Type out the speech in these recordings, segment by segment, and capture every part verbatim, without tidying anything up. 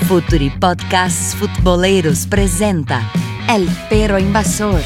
Futuri Podcasts Futboleros presenta El Perro Invasor.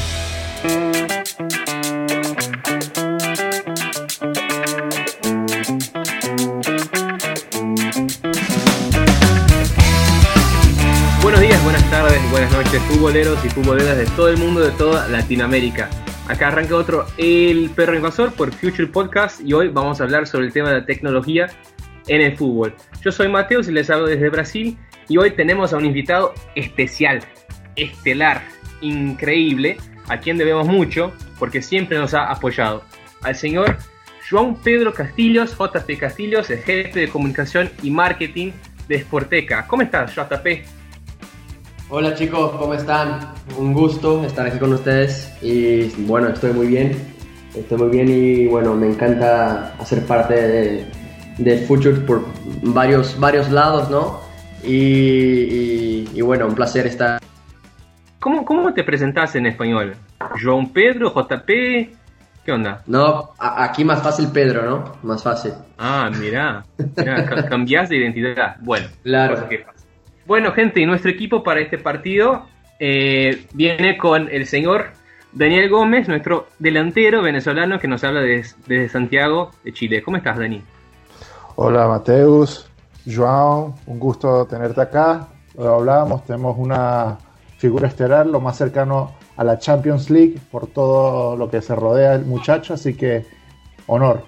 Buenos días, buenas tardes, buenas noches, futboleros y futboleras de todo el mundo, de toda Latinoamérica. Acá arranca otro El Perro Invasor por Future Podcast y hoy vamos a hablar sobre el tema de la tecnología en el fútbol. Yo soy Mateus y les hablo desde Brasil y hoy tenemos a un invitado especial, estelar, increíble, a quien debemos mucho porque siempre nos ha apoyado, al señor João Pedro Castilhos, J P Castilhos, el jefe de comunicación y marketing de Sporteca. ¿Cómo estás, J P? Hola chicos, ¿cómo están? Un gusto estar aquí con ustedes y bueno, estoy muy bien, estoy muy bien y bueno, me encanta hacer parte de, de Future por varios, varios lados, ¿no? Y, y, y bueno, un placer estar. ¿Cómo, cómo te presentás en español? ¿João Pedro, J P? ¿Qué onda? No, a, aquí más fácil Pedro, ¿no? Más fácil. Ah, mirá, mirá ca- cambiás de identidad. Bueno, claro. Cosa que pasa. Bueno, gente, y nuestro equipo para este partido eh, viene con el señor Daniel Gómez, nuestro delantero venezolano que nos habla desde, desde Santiago de Chile. ¿Cómo estás, Dani? Hola, Mateus, João, un gusto tenerte acá. Lo hablábamos, tenemos una figura estelar, lo más cercano a la Champions League por todo lo que se rodea el muchacho, así que honor.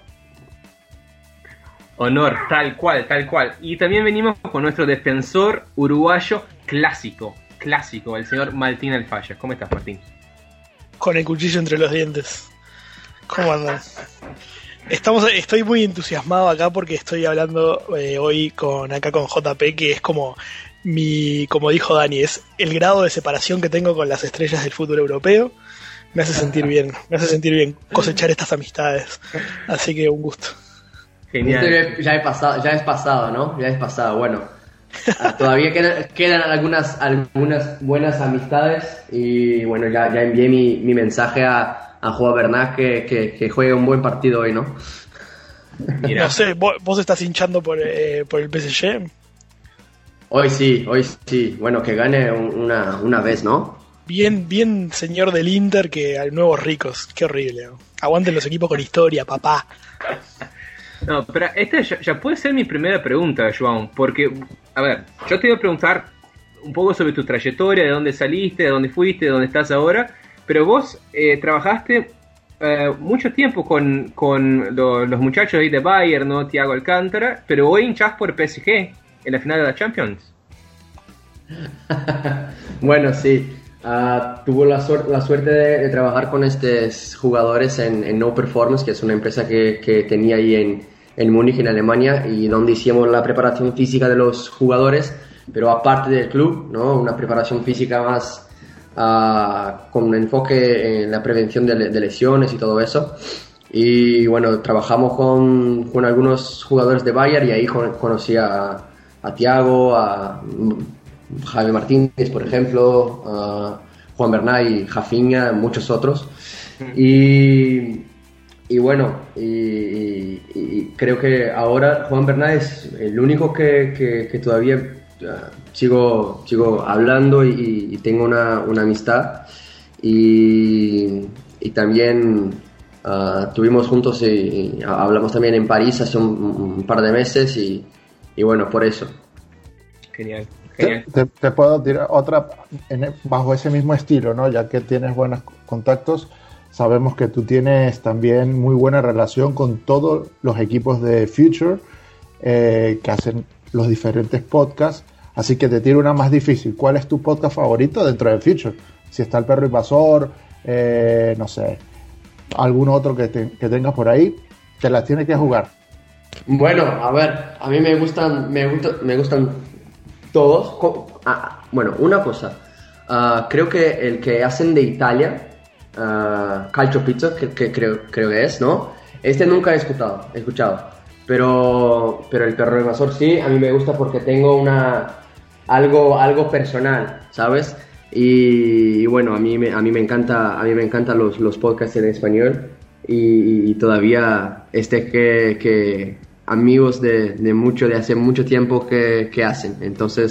Honor, tal cual, tal cual. Y también venimos con nuestro defensor uruguayo clásico, clásico, el señor Martín Alfaya. ¿Cómo estás, Martín? Con el cuchillo entre los dientes. ¿Cómo andan? Estamos, estoy muy entusiasmado acá porque estoy hablando eh, hoy con acá con J P, que es como mi, como dijo Dani, es el grado de separación que tengo con las estrellas del fútbol europeo. Me hace sentir bien, me hace sentir bien cosechar estas amistades. Así que un gusto. Genial. Este ya he pasado, ya es pasado, ¿no? Ya es pasado, bueno. Todavía quedan, quedan algunas, algunas buenas amistades y bueno, ya, ya envié mi, mi mensaje a, a Juan Bernat que, que, que juegue un buen partido hoy, ¿no? Mira. No sé, ¿vos, vos estás hinchando por, eh, por el P S G? Hoy sí, hoy sí. Bueno, que gane una, una vez, ¿no? Bien, bien señor del Inter que al nuevos ricos. Qué horrible, ¿no? Aguanten los equipos con historia, papá. No, pero esta ya, ya puede ser mi primera pregunta, João, porque, a ver, yo te voy a preguntar un poco sobre tu trayectoria, de dónde saliste, de dónde fuiste, de dónde estás ahora, pero vos eh, trabajaste eh, mucho tiempo con, con lo, los muchachos ahí de Bayern, ¿no? Thiago Alcántara, pero hoy hinchás por P S G en la final de la Champions. Bueno, sí. Uh, tuvo la, suer- la suerte de, de trabajar con estos jugadores en, en No Performance, que es una empresa que, que tenía ahí en, en Múnich, en Alemania, y donde hicimos la preparación física de los jugadores, pero aparte del club, ¿no? Una preparación física más uh, con un enfoque en la prevención de, de lesiones y todo eso. Y bueno, trabajamos con, con algunos jugadores de Bayern y ahí con, conocí a, a Thiago, a Javi Martínez, por ejemplo, uh, Juan Bernat y Rafinha, muchos otros. Y, y bueno, y, y, y creo que ahora Juan Bernat es el único que, que, que todavía uh, sigo, sigo hablando y, y tengo una, una amistad. Y, y también uh, tuvimos juntos y, y hablamos también en París hace un, un par de meses y, y bueno, por eso. Genial. Te, te, te puedo tirar otra en, bajo ese mismo estilo, ¿no? Ya que tienes buenos contactos, sabemos que tú tienes también muy buena relación con todos los equipos de Future eh, que hacen los diferentes podcasts, así que te tiro una más difícil. ¿Cuál es tu podcast favorito dentro de Future? Si está El Perro Invasor, eh, no sé, algún otro que, te, que tengas por ahí, te las tienes que jugar. Bueno, a ver, a mí me gustan, me gustan, me gustan todos. Ah, bueno, una cosa, uh, creo que el que hacen de Italia, uh, Calcio Pizza, que, que creo, creo que es, ¿no? Este nunca he escuchado, he escuchado, pero, pero El Perro Invasor sí, a mí me gusta porque tengo una, algo, algo personal, ¿sabes? Y, y bueno, a mí me, a mí me encanta, a mí me encantan los, los podcasts en español y, y todavía este que, que amigos de, de mucho, de hace mucho tiempo que, que hacen. Entonces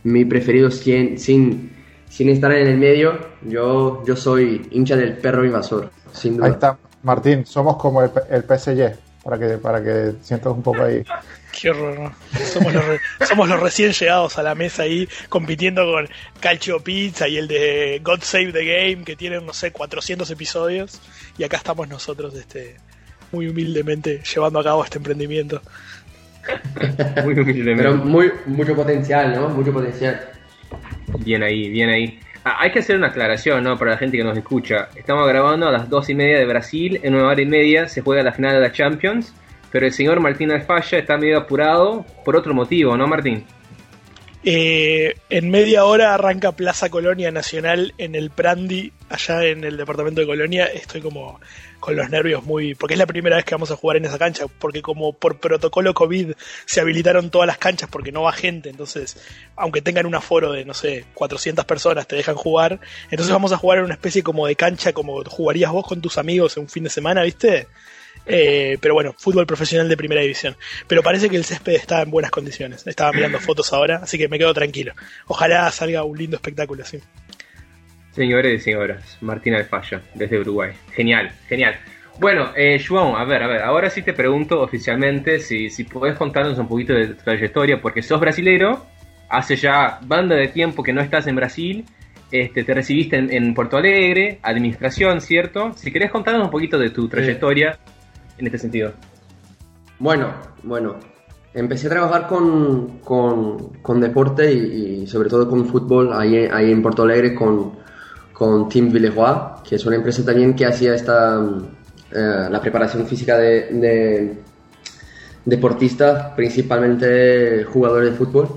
mi preferido sin, sin, sin estar en el medio. Yo, yo soy hincha del perro invasor, sin duda. Ahí está, Martín, somos como el, el P S G, para que, para que sientas un poco ahí. Qué horror, ¿no? Somos los, re, somos los recién llegados a la mesa ahí, compitiendo con Calcio Pizza y el de God Save the Game, que tienen, no sé, cuatrocientos episodios, y acá estamos nosotros, este, muy humildemente, llevando a cabo este emprendimiento. Muy humildemente. Pero muy, mucho potencial, ¿no? Mucho potencial. Bien ahí, bien ahí. Ah, hay que hacer una aclaración, ¿no? Para la gente que nos escucha. Estamos grabando a las dos y media de Brasil. En una hora y media se juega la final de la Champions. Pero el señor Martín Alfaya está medio apurado por otro motivo, ¿no, Martín? Eh, en media hora arranca Plaza Colonia Nacional en el Prandi, allá en el departamento de Colonia. Estoy como con los nervios muy... porque es la primera vez que vamos a jugar en esa cancha, porque como por protocolo COVID se habilitaron todas las canchas porque no va gente, entonces aunque tengan un aforo de, no sé, cuatrocientas personas te dejan jugar. Entonces vamos a jugar en una especie como de cancha como jugarías vos con tus amigos en un fin de semana, ¿viste? Eh, pero bueno, fútbol profesional de primera división. Pero parece que el césped está en buenas condiciones. Estaba mirando fotos ahora, así que me quedo tranquilo. Ojalá salga un lindo espectáculo así. Señores y señoras, Martín Alfaya, desde Uruguay. Genial, genial. Bueno, eh, João, a ver, a ver, ahora sí te pregunto oficialmente si, si podés contarnos un poquito de tu trayectoria, porque sos brasilero, hace ya banda de tiempo que no estás en Brasil. Este, te recibiste en, en Porto Alegre, administración, ¿cierto? Si querés contarnos un poquito de tu trayectoria. Sí. En este sentido. Bueno, bueno, empecé a trabajar con, con, con deporte y, y sobre todo con fútbol ahí, ahí en Porto Alegre con, con Team Villeroy, que es una empresa también que hacía esta, eh, la preparación física de, de deportistas, principalmente jugadores de fútbol.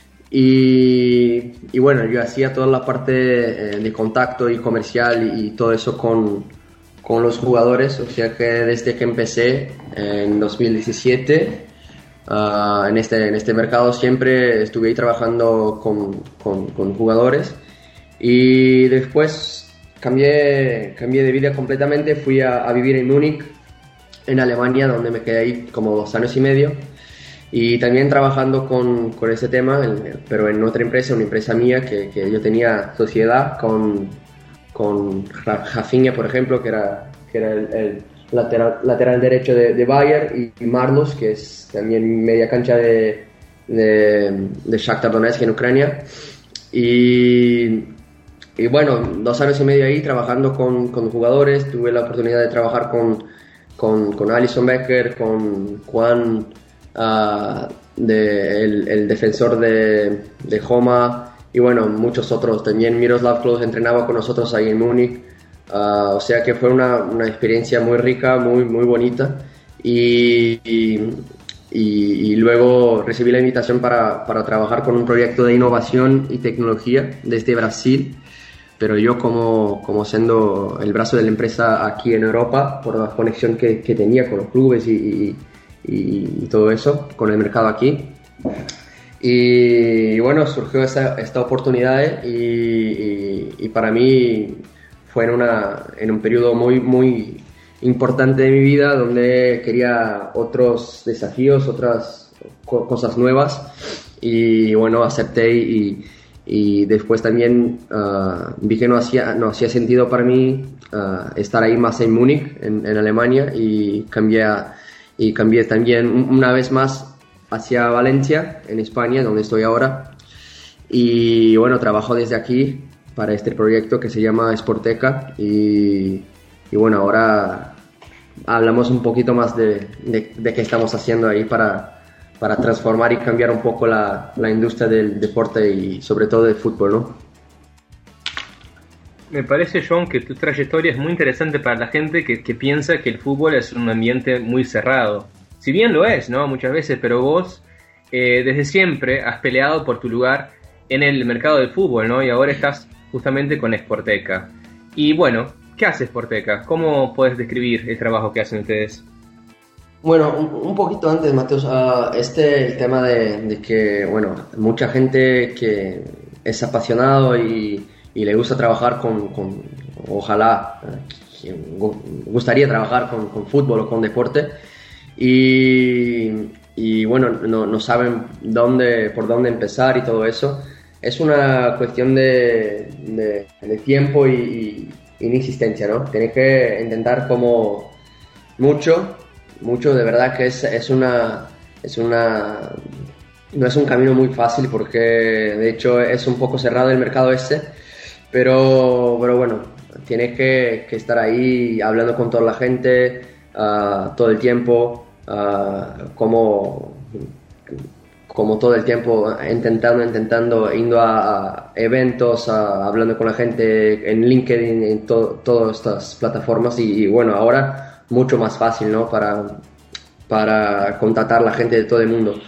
Y, y bueno, yo hacía toda la parte eh, de contacto y comercial y, y todo eso con con los jugadores, o sea que desde que empecé en dos mil diecisiete uh, en, este, en este mercado siempre estuve ahí trabajando con, con, con jugadores y después cambié, cambié de vida completamente, fui a, a vivir en Múnich, en Alemania, donde me quedé ahí como dos años y medio y también trabajando con, con ese tema, pero en otra empresa, una empresa mía que, que yo tenía sociedad con con Rafinha, por ejemplo, que era, que era el, el lateral, lateral derecho de, de Bayern, y Marlos, que es también media cancha de, de, de Shakhtar Donetsk en Ucrania. Y, y bueno, dos años y medio ahí trabajando con, con jugadores, tuve la oportunidad de trabajar con, con, con Alisson Becker, con Juan, uh, de, el, el defensor de, de Roma, y bueno, muchos otros. También Miroslav Klose entrenaba con nosotros ahí en Múnich, uh, o sea que fue una, una experiencia muy rica, muy, muy bonita, y, y, y, y luego recibí la invitación para, para trabajar con un proyecto de innovación y tecnología desde Brasil, pero yo como, como siendo el brazo de la empresa aquí en Europa, por la conexión que, que tenía con los clubes y, y, y, y todo eso, con el mercado aquí. Y bueno, surgió esa, esta oportunidad y, y, y para mí fue en, una, en un periodo muy, muy importante de mi vida donde quería otros desafíos, otras co- cosas nuevas, y bueno, acepté y, y después también uh, vi que no hacía, no hacía sentido para mí uh, estar ahí más en Múnich, en, en Alemania, y cambié, a, y cambié también una vez más hacia Valencia, en España, donde estoy ahora. Y bueno, trabajo desde aquí para este proyecto que se llama Sporteca. Y, y bueno, ahora hablamos un poquito más de, de, de qué estamos haciendo ahí para, para transformar y cambiar un poco la, la industria del deporte y sobre todo del fútbol, ¿no? Me parece, John, que tu trayectoria es muy interesante para la gente que, que piensa que el fútbol es un ambiente muy cerrado. Si bien lo es, ¿no? Muchas veces, pero vos eh, desde siempre has peleado por tu lugar en el mercado del fútbol, ¿no? Y ahora estás justamente con Sporteca. Y bueno, ¿qué hace Sporteca? ¿Cómo puedes describir el trabajo que hacen ustedes? Bueno, un, un poquito antes, Mateus, uh, este el tema de, de que, bueno, mucha gente que es apasionado y, y le gusta trabajar con, con ojalá, que gustaría trabajar con, con fútbol o con deporte, y, y bueno, no, no saben dónde, por dónde empezar y todo eso. es una cuestión de, de, de tiempo y, y insistencia, ¿no? Tienes que intentar como mucho, mucho, de verdad que es, es una, es una, no es un camino muy fácil porque de hecho es un poco cerrado el mercado este, pero, pero bueno, tienes que, que estar ahí hablando con toda la gente uh, todo el tiempo, uh, como... como todo el tiempo intentando, intentando, yendo a, a eventos, a, hablando con la gente en LinkedIn, en to, todas estas plataformas y, y bueno, ahora mucho más fácil, ¿no? Para, para contactar a la gente de todo el mundo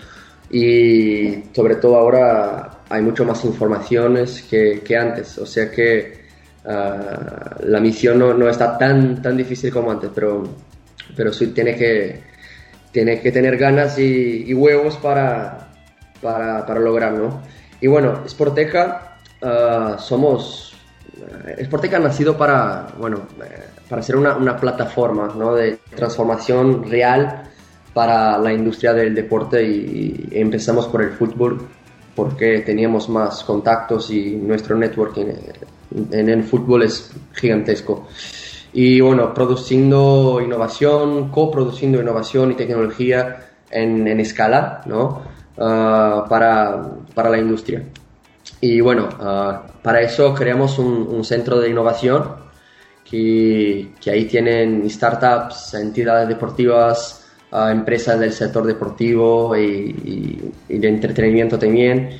y sobre todo ahora hay mucho más informaciones que, que antes, o sea que uh, la misión no, no está tan, tan difícil como antes, pero, pero sí tiene que, tiene que tener ganas y, y huevos para... Para, para lograrlo. Y bueno, Sporteca uh, somos uh, Sporteca ha nacido para bueno uh, para ser una, una plataforma, ¿no? De transformación real para la industria del deporte y, y empezamos por el fútbol porque teníamos más contactos y nuestro networking en, en el fútbol es gigantesco. Y bueno, produciendo innovación, coproduciendo innovación y tecnología en, en escala, ¿no? Uh, para, para la industria. Y bueno, uh, para eso creamos un, un centro de innovación que, que ahí tienen startups, entidades deportivas, uh, empresas del sector deportivo y, y, y de entretenimiento también.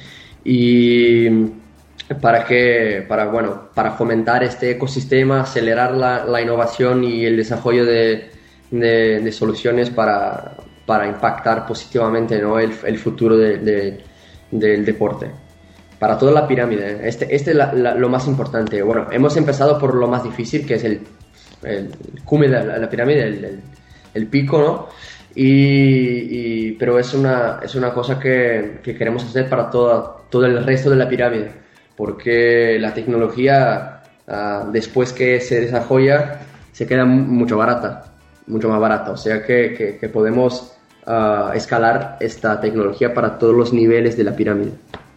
Y para que, para, bueno, para fomentar este ecosistema, acelerar la, la innovación y el desarrollo de, de, de soluciones para para impactar positivamente, ¿no? el, el futuro de, de, del deporte. Para toda la pirámide, este, este es la, la, lo más importante. Bueno, hemos empezado por lo más difícil, que es el, el cume de la, la pirámide, el, el, el pico, ¿no? Y, y, pero es una, es una cosa que, que queremos hacer para toda, todo el resto de la pirámide, porque la tecnología, uh, después que se desarrolla, se queda mucho barata, mucho más barata. O sea que, que, que podemos... Uh, escalar esta tecnología para todos los niveles de la pirámide.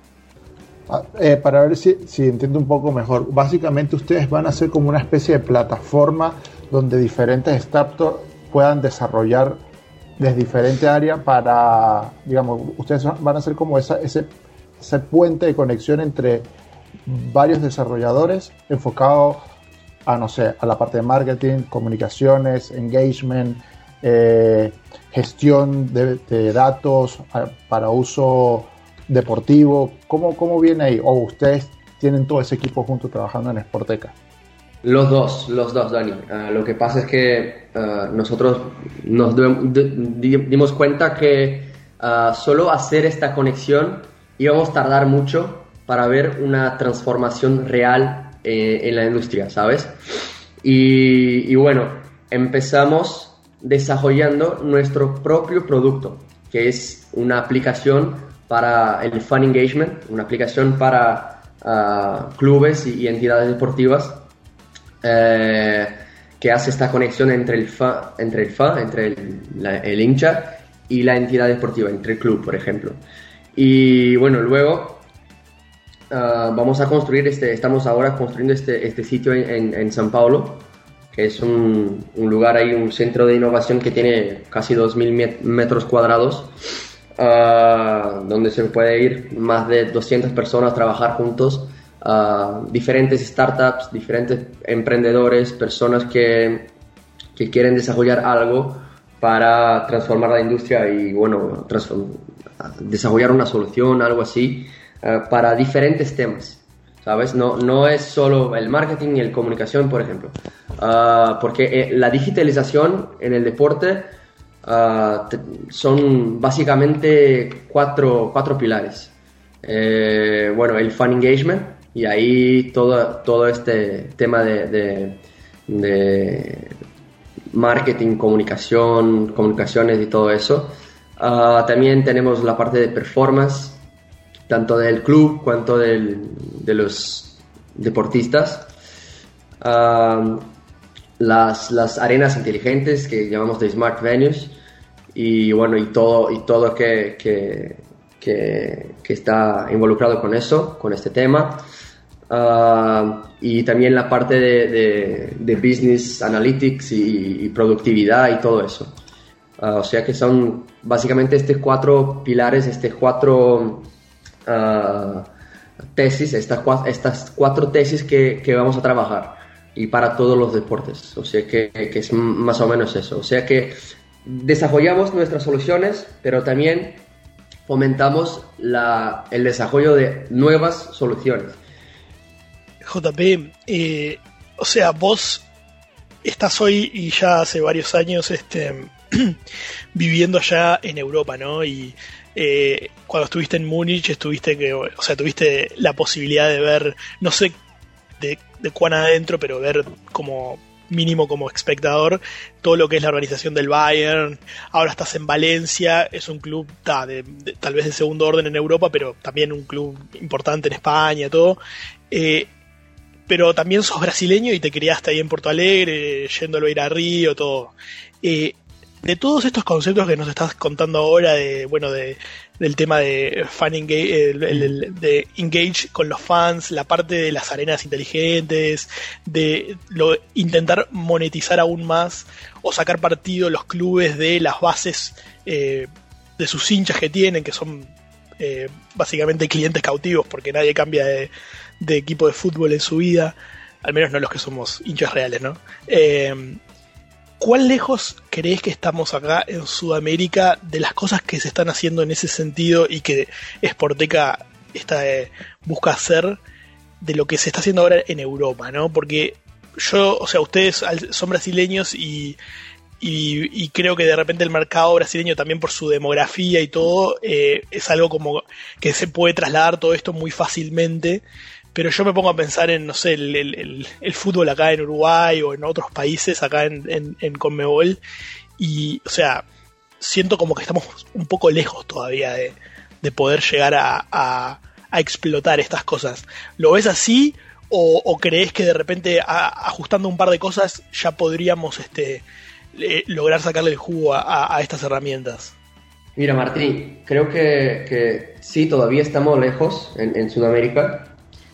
Eh, para ver si, si entiendo un poco mejor, básicamente ustedes van a ser como una especie de plataforma donde diferentes startups puedan desarrollar desde diferentes áreas para, digamos, ustedes van a ser como esa, ese, ese puente de conexión entre varios desarrolladores enfocados a, no sé, a la parte de marketing, comunicaciones, engagement, eh, gestión de, de datos a, para uso deportivo. ¿Cómo, ¿Cómo viene ahí? ¿O ustedes tienen todo ese equipo junto trabajando en Sporteca? Los dos, los dos, Dani. Uh, lo que pasa es que uh, nosotros nos dimos cuenta que uh, solo hacer esta conexión íbamos a tardar mucho para ver una transformación real eh, en la industria, ¿sabes? Y, y bueno, empezamos desarrollando nuestro propio producto, que es una aplicación para el fan engagement, una aplicación para uh, clubes y, y entidades deportivas eh, que hace esta conexión entre el fan, entre el, fan, entre el, la, el hincha y la entidad deportiva, entre el club, por ejemplo. Y bueno, luego uh, vamos a construir, este, estamos ahora construyendo este, este sitio en, en, en São Paulo, que es un, un lugar ahí, un centro de innovación que tiene casi dos mil metros cuadrados, uh, donde se puede ir más de doscientas personas a trabajar juntos, uh, diferentes startups, diferentes emprendedores, personas que, que quieren desarrollar algo para transformar la industria y, bueno, desarrollar una solución, algo así, uh, para diferentes temas. ¿Sabes? No, no es solo el marketing y el comunicación, por ejemplo. Uh, porque eh, la digitalización en el deporte uh, te, son básicamente cuatro, cuatro pilares. Eh, bueno, el fan engagement, y ahí todo, todo este tema de, de, de marketing, comunicación, comunicaciones y todo eso. Uh, también tenemos la parte de performance, tanto del club cuanto del, de los deportistas. Uh, las, las arenas inteligentes que llamamos de Smart Venues y bueno, y todo, y todo que, que, que, que está involucrado con eso, con este tema. Uh, y también la parte de, de, de business analytics y, y productividad y todo eso. Uh, o sea que son básicamente estos cuatro pilares, estos cuatro uh, tesis, estas, estas cuatro tesis que, que vamos a trabajar, y para todos los deportes. O sea que, que es más o menos eso. O sea que desarrollamos nuestras soluciones, pero también fomentamos la, el desarrollo de nuevas soluciones. J P, eh, o sea, vos estás hoy y ya hace varios años este, viviendo allá en Europa, ¿no? Y eh, cuando estuviste en Múnich, estuviste que, o sea, tuviste la posibilidad de ver, no sé de, de cuán adentro, pero ver como mínimo como espectador todo lo que es la organización del Bayern. Ahora estás en Valencia, es un club ta, de, de, tal vez de segundo orden en Europa, pero también un club importante en España, todo. Eh, pero también sos brasileño y te criaste ahí en Porto Alegre, yéndolo a ir a Río, todo. Eh, de todos estos conceptos que nos estás contando ahora, de bueno, de del tema de fan engage, el, el, el, de engage con los fans, la parte de las arenas inteligentes, de lo, intentar monetizar aún más o sacar partido los clubes de las bases eh, de sus hinchas que tienen, que son eh, básicamente clientes cautivos, porque nadie cambia de, de equipo de fútbol en su vida, al menos no los que somos hinchas reales, ¿no? Eh, ¿Cuán lejos crees que estamos acá en Sudamérica de las cosas que se están haciendo en ese sentido y que Sporteca está, eh, busca hacer de lo que se está haciendo ahora en Europa, ¿no? Porque yo, o sea, ustedes son brasileños y, y, y creo que de repente el mercado brasileño también por su demografía y todo eh, es algo como que se puede trasladar todo esto muy fácilmente. Pero yo me pongo a pensar en, no sé, el, el, el fútbol acá en Uruguay o en otros países acá en, en, en Conmebol. Y, o sea, siento como que estamos un poco lejos todavía de, de poder llegar a, a, a explotar estas cosas. ¿Lo ves así o, o crees que de repente a, ajustando un par de cosas ya podríamos este, eh, lograr sacarle el jugo a, a estas herramientas? Mira, Martín, creo que, que sí, todavía estamos lejos en, en Sudamérica.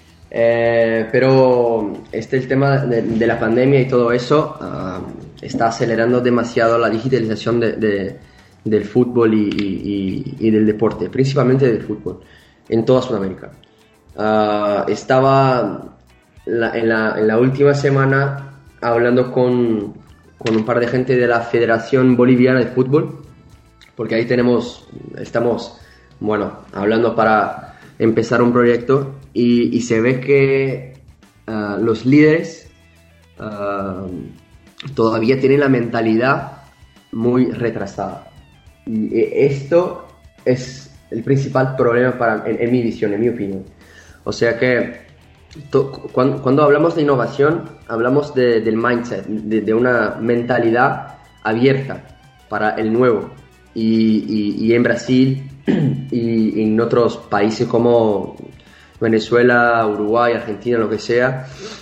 Eh, pero este el tema de, de la pandemia y todo eso uh, está acelerando demasiado la digitalización de, de, del fútbol y, y, y del deporte, principalmente del fútbol, en toda Sudamérica. Uh, estaba la, en, la, en la última semana hablando con, con un par de gente de la Federación Boliviana de Fútbol, porque ahí tenemos, estamos, bueno, hablando para empezar un proyecto. Y, y se ve que uh, los líderes uh, todavía tienen la mentalidad muy retrasada. Y esto es el principal problema para, en, en mi visión, en mi opinión. O sea que to, cuando, cuando hablamos de innovación, hablamos de, del mindset, de, de una mentalidad abierta para el nuevo. Y, y, y en Brasil y en otros países como Venezuela, Uruguay, Argentina, lo que sea,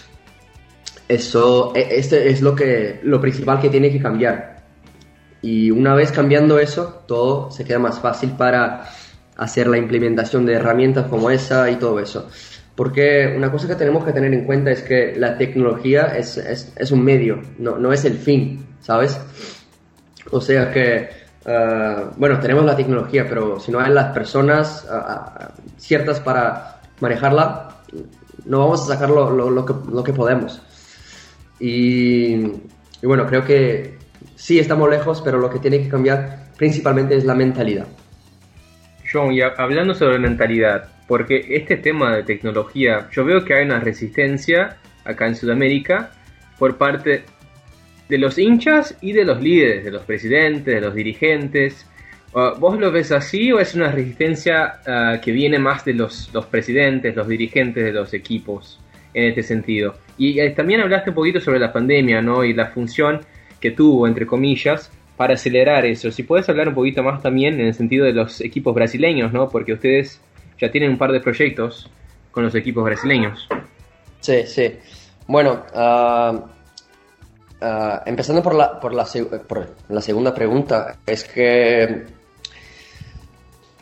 eso, este es lo que, lo principal que tiene que cambiar. Y una vez cambiando eso, todo se queda más fácil para hacer la implementación de herramientas como esa y todo eso. Porque una cosa que tenemos que tener en cuenta es que la tecnología es, es, es un medio, no, no es el fin, ¿sabes? O sea que Uh, bueno, tenemos la tecnología, pero si no hay las personas uh, ciertas para manejarla, no vamos a sacar lo, lo, lo, que, lo que podemos. Y, y bueno, creo que sí estamos lejos, pero lo que tiene que cambiar principalmente es la mentalidad. John, y hablando sobre mentalidad, porque este tema de tecnología, yo veo que hay una resistencia acá en Sudamérica por parte de los hinchas y de los líderes, de los presidentes, de los dirigentes. Uh, ¿Vos lo ves así o es una resistencia uh, que viene más de los, los presidentes, los dirigentes de los equipos en este sentido? Y eh, también hablaste un poquito sobre la pandemia, ¿no? Y la función que tuvo, entre comillas, para acelerar eso. Si puedes hablar un poquito más también en el sentido de los equipos brasileños, ¿no? Porque ustedes ya tienen un par de proyectos con los equipos brasileños. Sí, sí. Bueno, uh... Uh, empezando por la, por, la, por la segunda pregunta, es que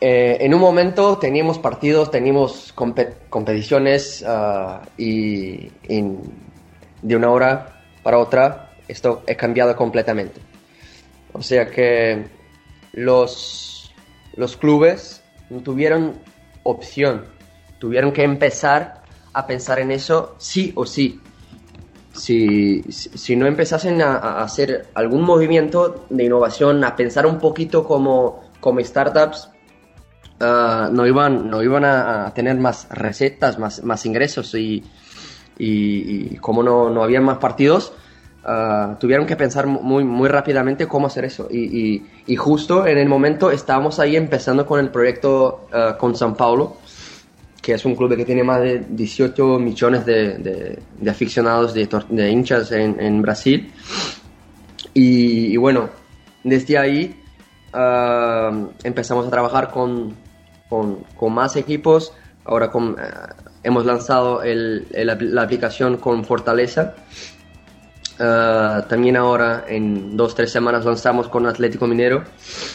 Eh, en un momento teníamos partidos, teníamos compe- competiciones uh, y, y de una hora para otra esto ha cambiado completamente. O sea que los, los clubes no tuvieron opción, tuvieron que empezar a pensar en eso sí o sí. Si, si, si no empezasen a, a hacer algún movimiento de innovación, a pensar un poquito como, como startups, Uh, no iban, no iban a, a tener más recetas, más, más ingresos y, y, y como no, no había más partidos, uh, tuvieron que pensar muy, muy rápidamente cómo hacer eso. Y, y, y justo en el momento estábamos ahí empezando con el proyecto uh, con São Paulo, que es un club que tiene más de dieciocho millones de, de, de aficionados, de, de hinchas en, en Brasil. Y, y bueno, desde ahí uh, empezamos a trabajar con Con, con más equipos. Ahora con, uh, hemos lanzado el, el, la aplicación con Fortaleza. Uh, también ahora en dos o tres semanas lanzamos con Atlético Mineiro.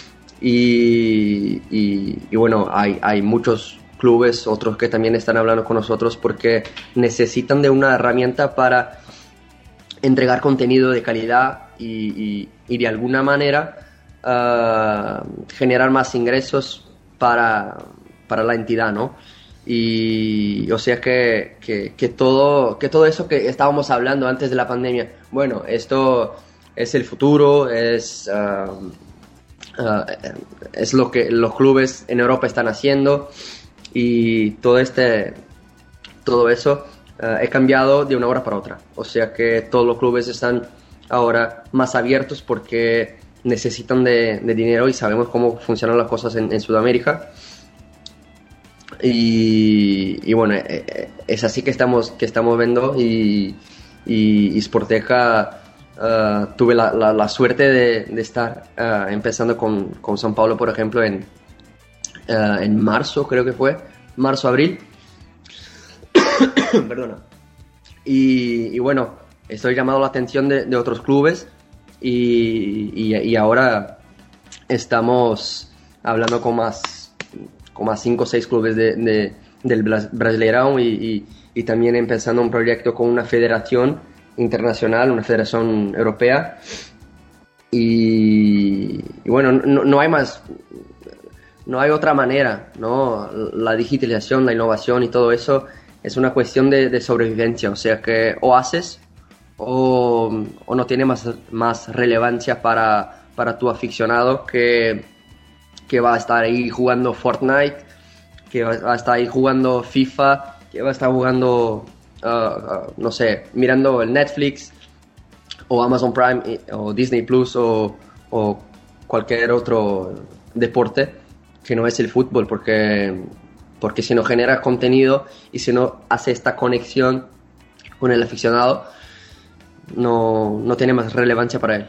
Y, y, y bueno, hay, hay muchos clubes, otros que también están hablando con nosotros porque necesitan de una herramienta para entregar contenido de calidad y, y, y de alguna manera uh, generar más ingresos para, para la entidad, ¿no? Y o sea que, que, que, todo, que todo eso que estábamos hablando antes de la pandemia, bueno, esto es el futuro, es, uh, uh, es lo que los clubes en Europa están haciendo y todo, este, todo eso uh, he cambiado de una hora para otra. O sea que todos los clubes están ahora más abiertos porque necesitan de, de dinero y sabemos cómo funcionan las cosas en, en Sudamérica y, y bueno, es así que estamos, que estamos viendo y, y, y Sporteca uh, tuve la, la, la suerte de, de estar uh, empezando con, con São Paulo, por ejemplo, en, uh, en marzo, creo que fue, marzo-abril. Perdona. Y, y bueno, estoy llamando la atención de, de otros clubes. Y, y, y ahora estamos hablando con más con más cinco o seis clubes de, de, del Brasileirão y, y, y también empezando un proyecto con una federación internacional, una federación europea y, y bueno, no, no hay más, no hay otra manera, ¿no? La digitalización, la innovación y todo eso es una cuestión de, de sobrevivencia, o sea que o haces O, o no tiene más, más relevancia para, para tu aficionado que, que va a estar ahí jugando Fortnite, que va a estar ahí jugando FIFA, que va a estar jugando, uh, uh, no sé, mirando el Netflix o Amazon Prime o Disney Plus o, o cualquier otro deporte que no es el fútbol, porque, porque si no genera contenido y si no hace esta conexión con el aficionado, no, no tiene más relevancia para él.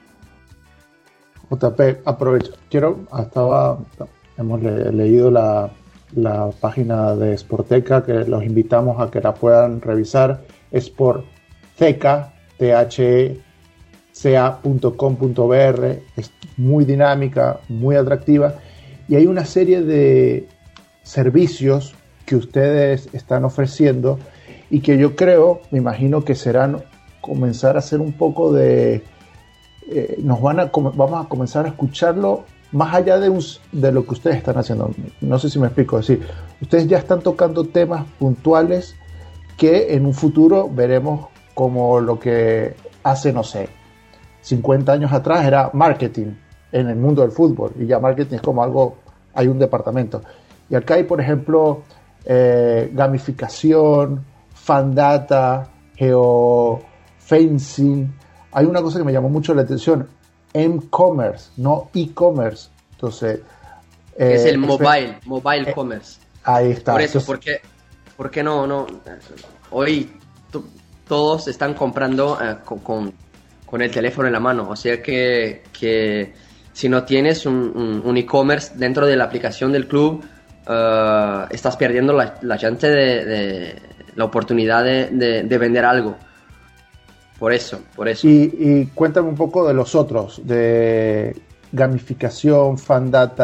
J P, aprovecho. Quiero, estaba, hemos le, leído la, la página de Sporteca, que los invitamos a que la puedan revisar. Es por Theca, T H E C A punto com punto B R. Es muy dinámica, muy atractiva. Y hay una serie de servicios que ustedes están ofreciendo y que yo creo, me imagino que serán comenzar a hacer un poco de eh, nos van a vamos a comenzar a escucharlo más allá de, un, de lo que ustedes están haciendo. No sé si me explico. Es decir, ustedes ya están tocando temas puntuales que en un futuro veremos como lo que hace, no sé, cincuenta años atrás era marketing en el mundo del fútbol, y ya marketing es como algo, hay un departamento. Y acá hay, por ejemplo, eh, gamificación, fan data, geofencing. Hay una cosa que me llamó mucho la atención, M-commerce, no e-commerce. Entonces, eh, es el mobile, mobile eh, commerce. Ahí está. Por eso, Entonces, porque, porque no, no, hoy t- todos están comprando uh, con, con, con el teléfono en la mano. O sea que, que si no tienes un, un, un e-commerce dentro de la aplicación del club, uh, estás perdiendo la, la chance de, de la oportunidad de, de, de vender algo. Por eso, por eso. Y, y cuéntame un poco de los otros, de gamificación, fan data,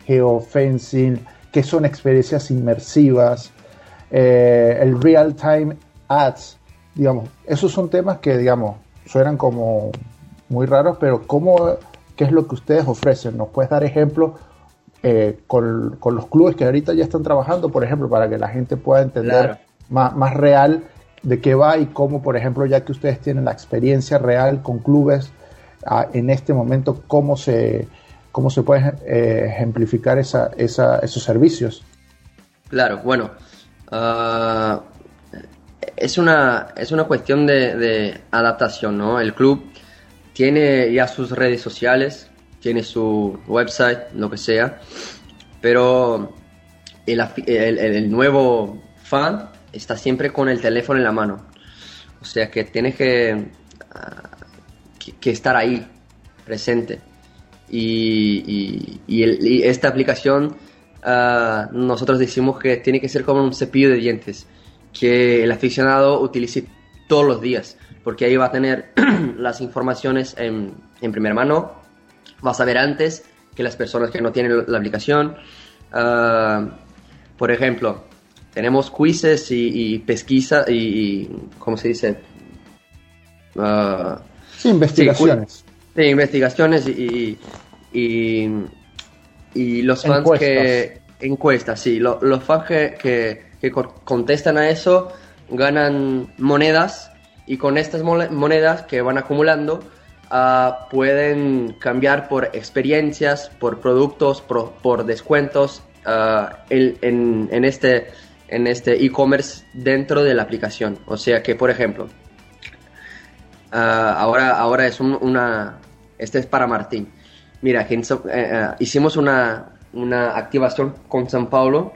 geofencing, qué son experiencias inmersivas, eh, el real-time ads, digamos, esos son temas que, digamos, suenan como muy raros, pero ¿cómo, qué es lo que ustedes ofrecen? ¿Nos puedes dar ejemplos eh, con, con los clubes que ahorita ya están trabajando, por ejemplo, para que la gente pueda entender Claro. más, más real de qué va y cómo, por ejemplo, ya que ustedes tienen la experiencia real con clubes ah, en este momento, cómo se, cómo se pueden eh, ejemplificar esa, esa, esos servicios? Claro, bueno, uh, es, una, es una cuestión de, de adaptación, ¿no? El club tiene ya sus redes sociales, tiene su website, lo que sea, pero el, el, el nuevo fan está siempre con el teléfono en la mano. O sea que tienes que, uh, que, que estar ahí, presente. Y, y, y, el, y esta aplicación, uh, nosotros decimos que tiene que ser como un cepillo de dientes, que el aficionado utilice todos los días, porque ahí va a tener las informaciones en, en primera mano, va a saber antes que las personas que no tienen la aplicación. Uh, por ejemplo, tenemos quizzes y, y pesquisa y, y, ¿cómo se dice? Uh, sí, investigaciones. Sí, sí, investigaciones y, y, y los fans encuestas. que... Encuestas, sí. Lo, los fans que, que, que contestan a eso ganan monedas y con estas monedas que van acumulando uh, pueden cambiar por experiencias, por productos, por, por descuentos uh, en, en, en este... en este e-commerce dentro de la aplicación. O sea que, por ejemplo, uh, ahora, ahora es un, una... Este es para Martín. Mira, que, uh, uh, hicimos una, una activación con São Paulo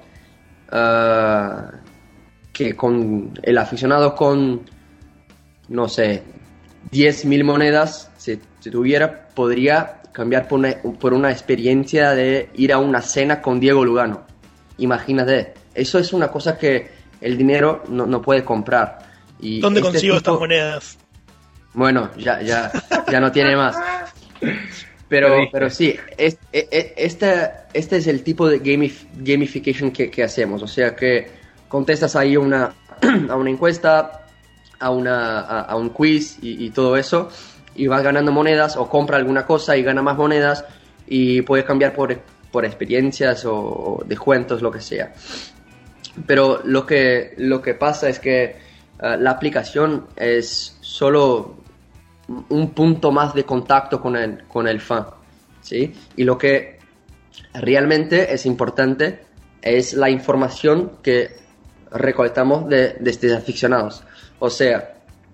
uh, que con el aficionado con, no sé, diez mil monedas, si, si tuviera, podría cambiar por una, por una experiencia de ir a una cena con Diego Lugano. Imagínate. Eso es una cosa que el dinero no, no puede comprar. Y ¿Dónde este consigo tipo... estas monedas? Bueno, ya, ya, ya no tiene más. Pero, pero sí, es, es, este, este es el tipo de gamif- gamification que, que hacemos. O sea que contestas ahí una, a una encuesta, a, una, a, a un quiz y, y todo eso, y vas ganando monedas o compra alguna cosa y gana más monedas y puedes cambiar por, por experiencias o, o descuentos, lo que sea. Pero lo que, lo que pasa es que uh, la aplicación es solo un punto más de contacto con el, con el fan, ¿sí? Y lo que realmente es importante es la información que recolectamos de, de estos aficionados. O sea,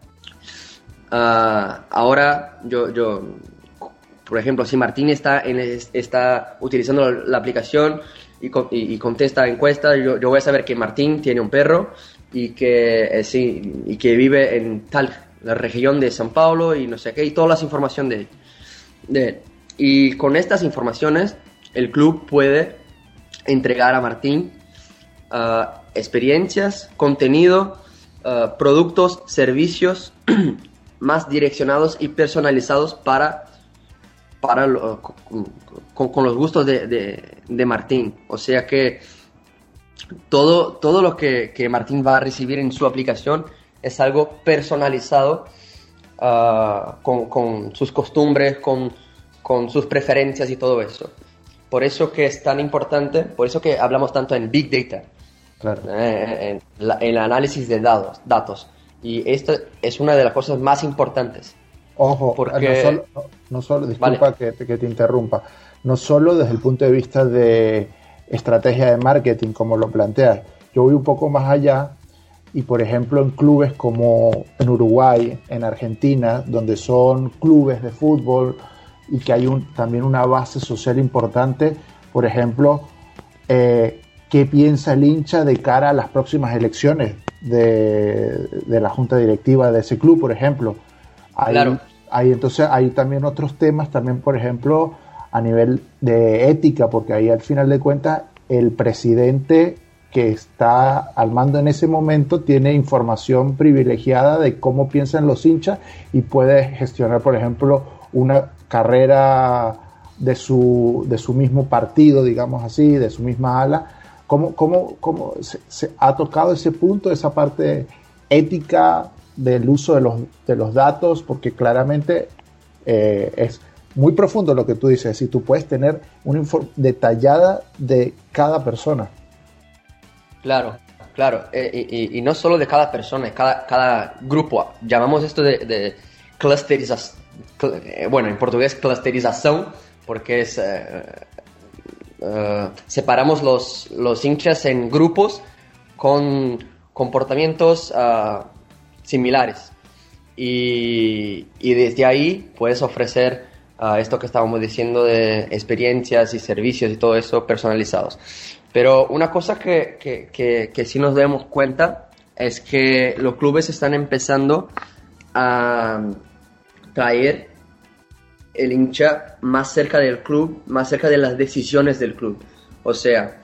uh, ahora yo, yo, por ejemplo, si Martín está, en, está utilizando la aplicación y, y, y contesta encuestas, yo, yo voy a saber que Martín tiene un perro y que, eh, sí, y que vive en tal la región de São Paulo y no sé qué, y todas las informaciones de, de él. Y con estas informaciones el club puede entregar a Martín uh, experiencias, contenido, uh, productos, servicios más direccionados y personalizados para, para lo, con, con los gustos de, de, de Martín. O sea que todo, todo lo que, que Martín va a recibir en su aplicación es algo personalizado uh, con, con sus costumbres, con, con sus preferencias y todo eso. Por eso que es tan importante, por eso que hablamos tanto en Big Data, claro. eh, en, la, en el análisis de datos, datos. Y esto es una de las cosas más importantes. Ojo, porque... no solo, no, no solo disculpa vale. que, que te interrumpa, no solo desde el punto de vista de estrategia de marketing, como lo planteas, yo voy un poco más allá. Y por ejemplo en clubes como en Uruguay, en Argentina, donde son clubes de fútbol y que hay un, también una base social importante, por ejemplo, eh, ¿qué piensa el hincha de cara a las próximas elecciones de, de la junta directiva de ese club, por ejemplo? Hay, claro. hay, entonces hay también otros temas, también por ejemplo a nivel de ética, porque ahí al final de cuentas el presidente que está al mando en ese momento tiene información privilegiada de cómo piensan los hinchas y puede gestionar, por ejemplo, una carrera de su, de su mismo partido, digamos así, de su misma ala. ¿Cómo, cómo, cómo se, se ha tocado ese punto, esa parte ética del uso de los, de los datos? Porque claramente eh, es muy profundo lo que tú dices, si tú puedes tener una info detallada de cada persona. Claro, claro, eh, y, y no solo de cada persona, cada, cada grupo. Llamamos esto de, de clusterización, bueno, en portugués clusterización, porque es eh, eh, separamos los, los hinchas en grupos con comportamientos uh, similares, y, y desde ahí puedes ofrecer Uh, esto que estábamos diciendo de experiencias y servicios y todo eso personalizados. Pero una cosa que, que, que, que sí nos damos cuenta es que los clubes están empezando a traer el hincha más cerca del club, más cerca de las decisiones del club. O sea,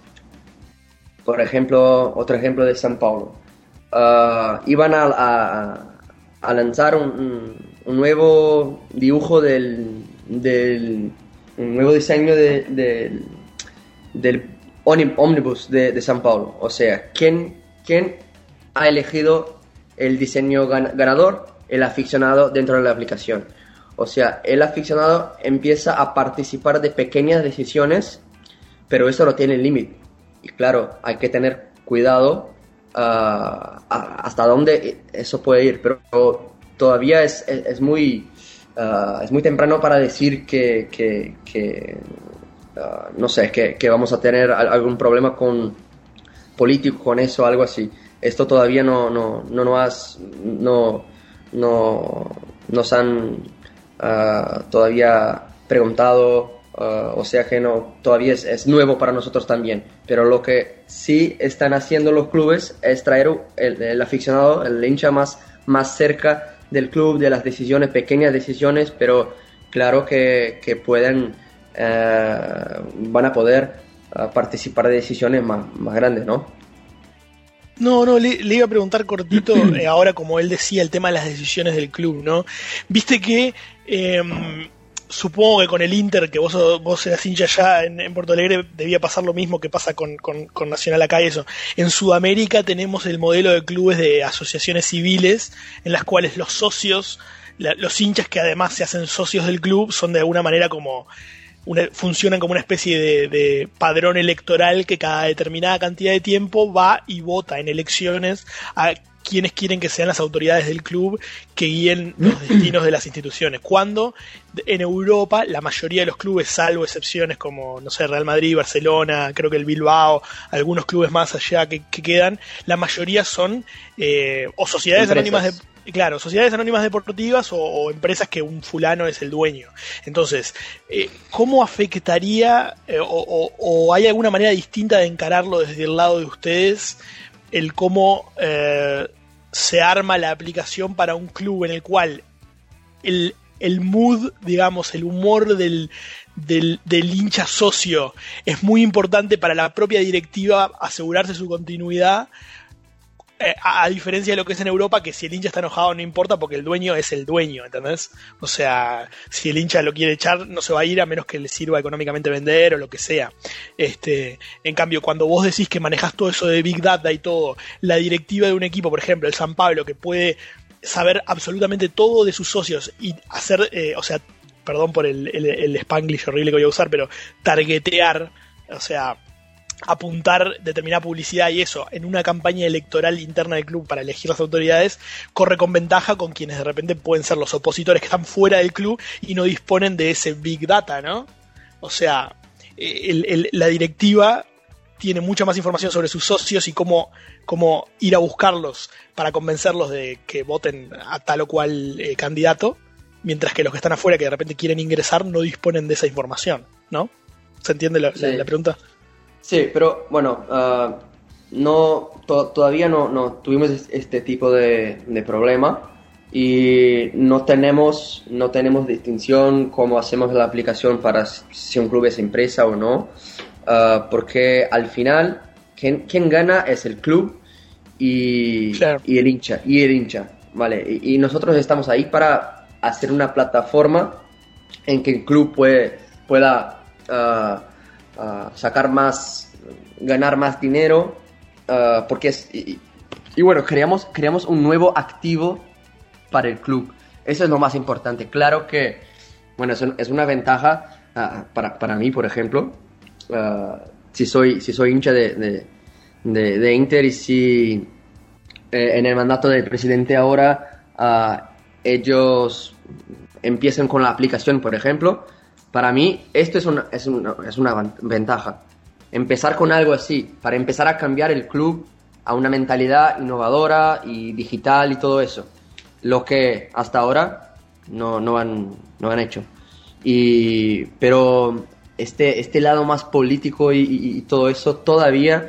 por ejemplo, otro ejemplo de São Paulo. Uh, iban a, a, a lanzar un, un un nuevo dibujo del, del un nuevo diseño de, de, del ómnibus de, de São Paulo. O sea, ¿quién, quién ha elegido el diseño ganador? El aficionado dentro de la aplicación. O sea, el aficionado empieza a participar de pequeñas decisiones, pero eso no tiene límite. Y claro, hay que tener cuidado uh, a, hasta dónde eso puede ir, pero todavía es, es, es, muy, uh, es muy temprano para decir que, que, que uh, no sé, que, que vamos a tener algún problema con político con eso, algo así. Esto todavía no, no, no, no, has, no, no nos han uh, todavía preguntado, uh, o sea que no, todavía es, es nuevo para nosotros también. Pero lo que sí están haciendo los clubes es traer el, el aficionado, el hincha más, más cerca del club, de las decisiones, pequeñas decisiones, pero claro que, que pueden, eh, van a poder uh, participar de decisiones más, más grandes, ¿no? No, no, le, le iba a preguntar cortito, eh, ahora como él decía, el tema de las decisiones del club, ¿no? Viste que, eh, supongo que con el Inter, que vos, vos eras hincha allá en, en Porto Alegre, debía pasar lo mismo que pasa con, con, con Nacional acá y eso. En Sudamérica tenemos el modelo de clubes de asociaciones civiles, en las cuales los socios, la, los hinchas que además se hacen socios del club, son de alguna manera como una, funcionan como una especie de, de padrón electoral que cada determinada cantidad de tiempo va y vota en elecciones a quienes quieren que sean las autoridades del club que guíen los destinos de las instituciones. Cuando en Europa la mayoría de los clubes, salvo excepciones como, no sé, Real Madrid, Barcelona, creo que el Bilbao, algunos clubes más allá que, que quedan, la mayoría son eh, o sociedades empresas. anónimas de Claro, sociedades anónimas deportivas o, o empresas que un fulano es el dueño. Entonces, eh, ¿cómo afectaría eh, o, o, o hay alguna manera distinta de encararlo desde el lado de ustedes el cómo eh, se arma la aplicación para un club en el cual el, el mood, digamos, el humor del, del, del hincha socio es muy importante para la propia directiva asegurarse su continuidad? Eh, a, a diferencia de lo que es en Europa, que si el hincha está enojado no importa porque el dueño es el dueño, ¿entendés? O sea, si el hincha lo quiere echar no se va a ir a menos que le sirva económicamente vender o lo que sea. Este, en cambio, cuando vos decís que manejás todo eso de Big Data y todo, la directiva de un equipo, por ejemplo, el San Pablo, que puede saber absolutamente todo de sus socios y hacer, eh, o sea, perdón por el, el, el spanglish horrible que voy a usar, pero targetear, o sea, apuntar determinada publicidad y eso en una campaña electoral interna del club para elegir las autoridades, corre con ventaja con quienes de repente pueden ser los opositores que están fuera del club y no disponen de ese Big Data, ¿no? O sea, el, el, la directiva tiene mucha más información sobre sus socios y cómo, cómo ir a buscarlos para convencerlos de que voten a tal o cual eh, candidato, mientras que los que están afuera que de repente quieren ingresar no disponen de esa información, ¿no? ¿Se entiende la, sí. la, la pregunta? Sí, pero bueno, uh, no to- todavía no, no tuvimos este tipo de, de problema y no tenemos, no tenemos distinción cómo hacemos la aplicación para si un club es empresa o no, uh, porque al final quien, quien gana es el club y, claro. y el hincha, y el hincha, ¿vale? Y, y nosotros estamos ahí para hacer una plataforma en que el club puede pueda uh, uh, sacar más, ganar más dinero, uh, porque es, y, y bueno, creamos, creamos un nuevo activo para el club. Eso es lo más importante. Claro que, bueno, es, un, es una ventaja uh, para, para mí, por ejemplo, uh, si soy, si soy hincha de, de, de, de Inter y si eh, en el mandato del presidente ahora uh, ellos empiezan con la aplicación, por ejemplo, para mí esto es una, es una, es una ventaja. Empezar con algo así, para empezar a cambiar el club a una mentalidad innovadora y digital y todo eso. Lo que hasta ahora no, no, han, no han hecho. Y, pero este, este lado más político y, y, y todo eso todavía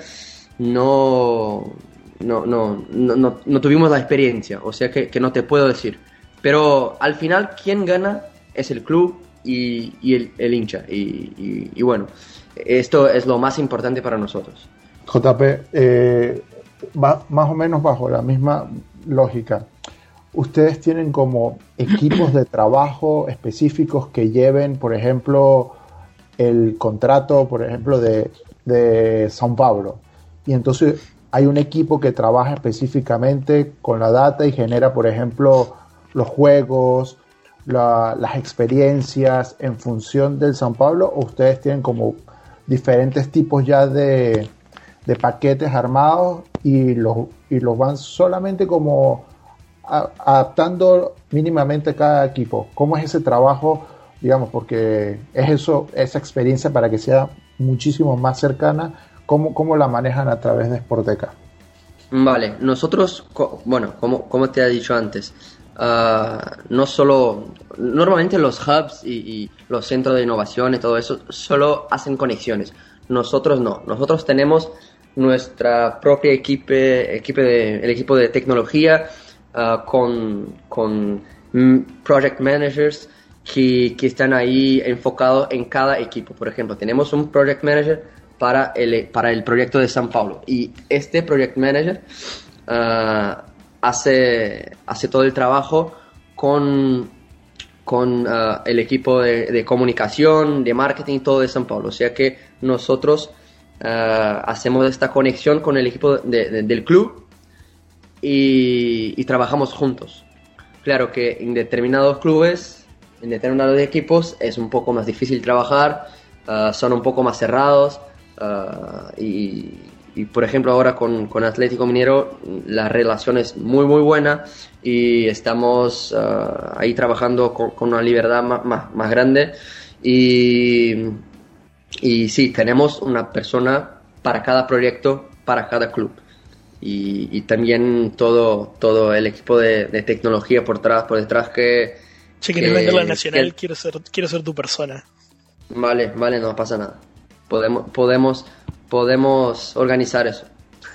no, no, no, no, no, no tuvimos la experiencia, o sea que, que no te puedo decir. Pero al final quien gana es el club y, y el, el hincha. Y, y, y bueno, esto es lo más importante para nosotros. J P, eh, va, más o menos bajo la misma lógica. ¿Ustedes tienen como equipos de trabajo específicos que lleven, por ejemplo, el contrato, por ejemplo, de, de São Paulo? Y entonces hay un equipo que trabaja específicamente con la data y genera, por ejemplo, los juegos, la, las experiencias en función del São Paulo, ¿o ustedes tienen como diferentes tipos ya de, de paquetes armados y los, y los van solamente como a, adaptando mínimamente cada equipo? ¿Cómo es ese trabajo, digamos, porque es eso, esa experiencia para que sea muchísimo más cercana? ¿Cómo, cómo la manejan a través de Sporteca? Vale, nosotros, bueno, como, como te he dicho antes, Uh, no solo, normalmente los hubs y, y los centros de innovación y todo eso solo hacen conexiones. Nosotros no, nosotros tenemos nuestra propia equipo, equipo de, el equipo de tecnología uh, con, con project managers que, que están ahí enfocados en cada equipo. Por ejemplo, tenemos un project manager para el, para el proyecto de São Paulo y este project manager uh, Hace, hace todo el trabajo con, con uh, el equipo de, de comunicación, de marketing, todo de São Paulo. O sea que nosotros uh, hacemos esta conexión con el equipo de, de, del club y, y trabajamos juntos. Claro que en determinados clubes, en determinados equipos, es un poco más difícil trabajar, uh, son un poco más cerrados uh, y... Y por ejemplo ahora con, con Atlético Mineiro la relación es muy muy buena y estamos uh, ahí trabajando con, con una libertad más, más, más grande y, y sí, tenemos una persona para cada proyecto, para cada club y, y también todo, todo el equipo de, de tecnología por detrás, por detrás que... Che, que, que no venga la Nacional, que, quiero, ser, quiero ser tu persona. Vale, vale, no pasa nada. Podemos... podemos podemos organizar eso.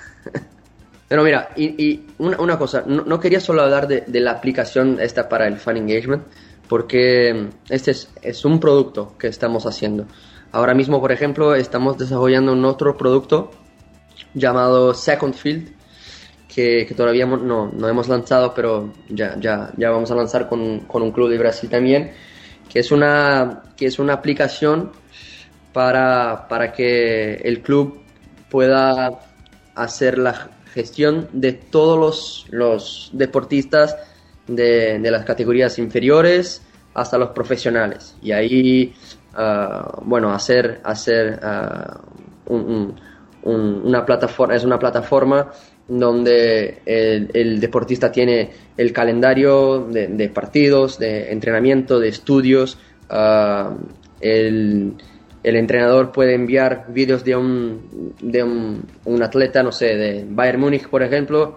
Pero mira, y, y una, una cosa, no, no quería solo hablar de, de la aplicación esta para el fan engagement, porque este es, es un producto que estamos haciendo. Ahora mismo, por ejemplo, estamos desarrollando un otro producto llamado Second Field, que, que todavía no, no hemos lanzado, pero ya, ya, ya vamos a lanzar con, con un club de Brasil también, que es una, que es una aplicación Para, para que el club pueda hacer la gestión de todos los, los deportistas de, de las categorías inferiores hasta los profesionales. Y ahí, uh, bueno, hacer, hacer uh, un, un, una plataforma, es una plataforma donde el, el deportista tiene el calendario de, de partidos, de entrenamiento, de estudios, uh, el... El entrenador puede enviar vídeos de un, de un, un atleta, no sé, de Bayern Múnich, por ejemplo,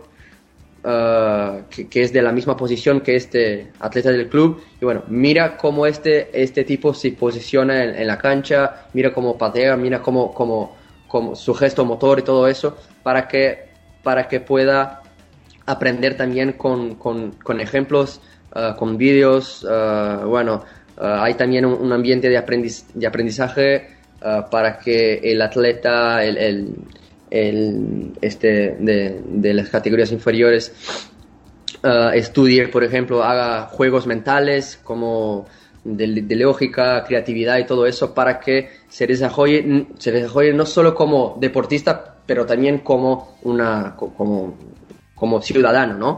uh, que, que es de la misma posición que este atleta del club. Y bueno, mira cómo este, este tipo se posiciona en, en la cancha, mira cómo patea, mira cómo, cómo, cómo su gesto motor y todo eso, para que, para que pueda aprender también con, con, con ejemplos, uh, con vídeos, uh, bueno... Uh, hay también un, un ambiente de, aprendiz, de aprendizaje uh, para que el atleta el, el, el, este, de, de las categorías inferiores uh, estudie, por ejemplo, haga juegos mentales, como de, de lógica, creatividad y todo eso para que se desarrolle, se desarrolle no solo como deportista, pero también como, una, como, como ciudadano, ¿no?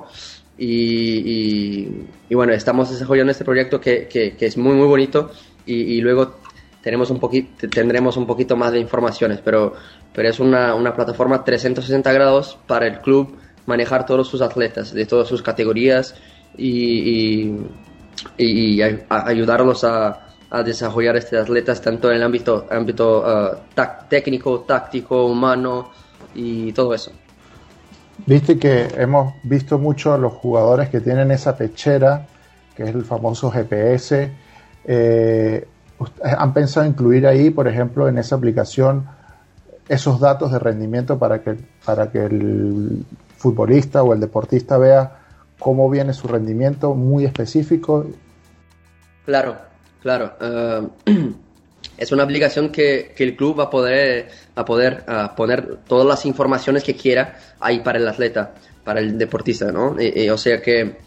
Y, y, y bueno, estamos desarrollando este proyecto que, que, que es muy muy bonito y, y luego tenemos un poquito, tendremos un poquito más de informaciones, pero, pero es una, una plataforma trescientos sesenta grados para el club manejar todos sus atletas de todas sus categorías y, y, y a, a ayudarlos a, a desarrollar estos atletas tanto en el ámbito, ámbito uh, tac, técnico, táctico, humano y todo eso. Viste que hemos visto mucho a los jugadores que tienen esa pechera, que es el famoso G P S. Eh, ¿Han pensado incluir ahí, por ejemplo, en esa aplicación, esos datos de rendimiento para que, para que el futbolista o el deportista vea cómo viene su rendimiento muy específico? Claro, claro. Uh, es una aplicación que, que el club va a poder, a poder uh, poner todas las informaciones que quiera ahí para el atleta, para el deportista, ¿no? Y, y, o sea que,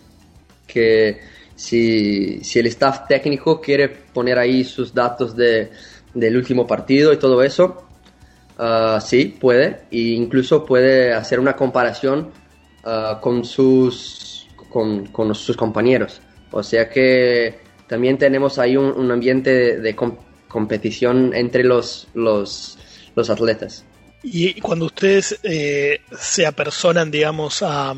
que si, si el staff técnico quiere poner ahí sus datos de, del último partido y todo eso, uh, sí, puede. E incluso puede hacer una comparación uh, con, sus, con, con sus compañeros. O sea que también tenemos ahí un, un ambiente de, de comp- competición entre los, los, los atletas. Y cuando ustedes eh, se apersonan, digamos, a,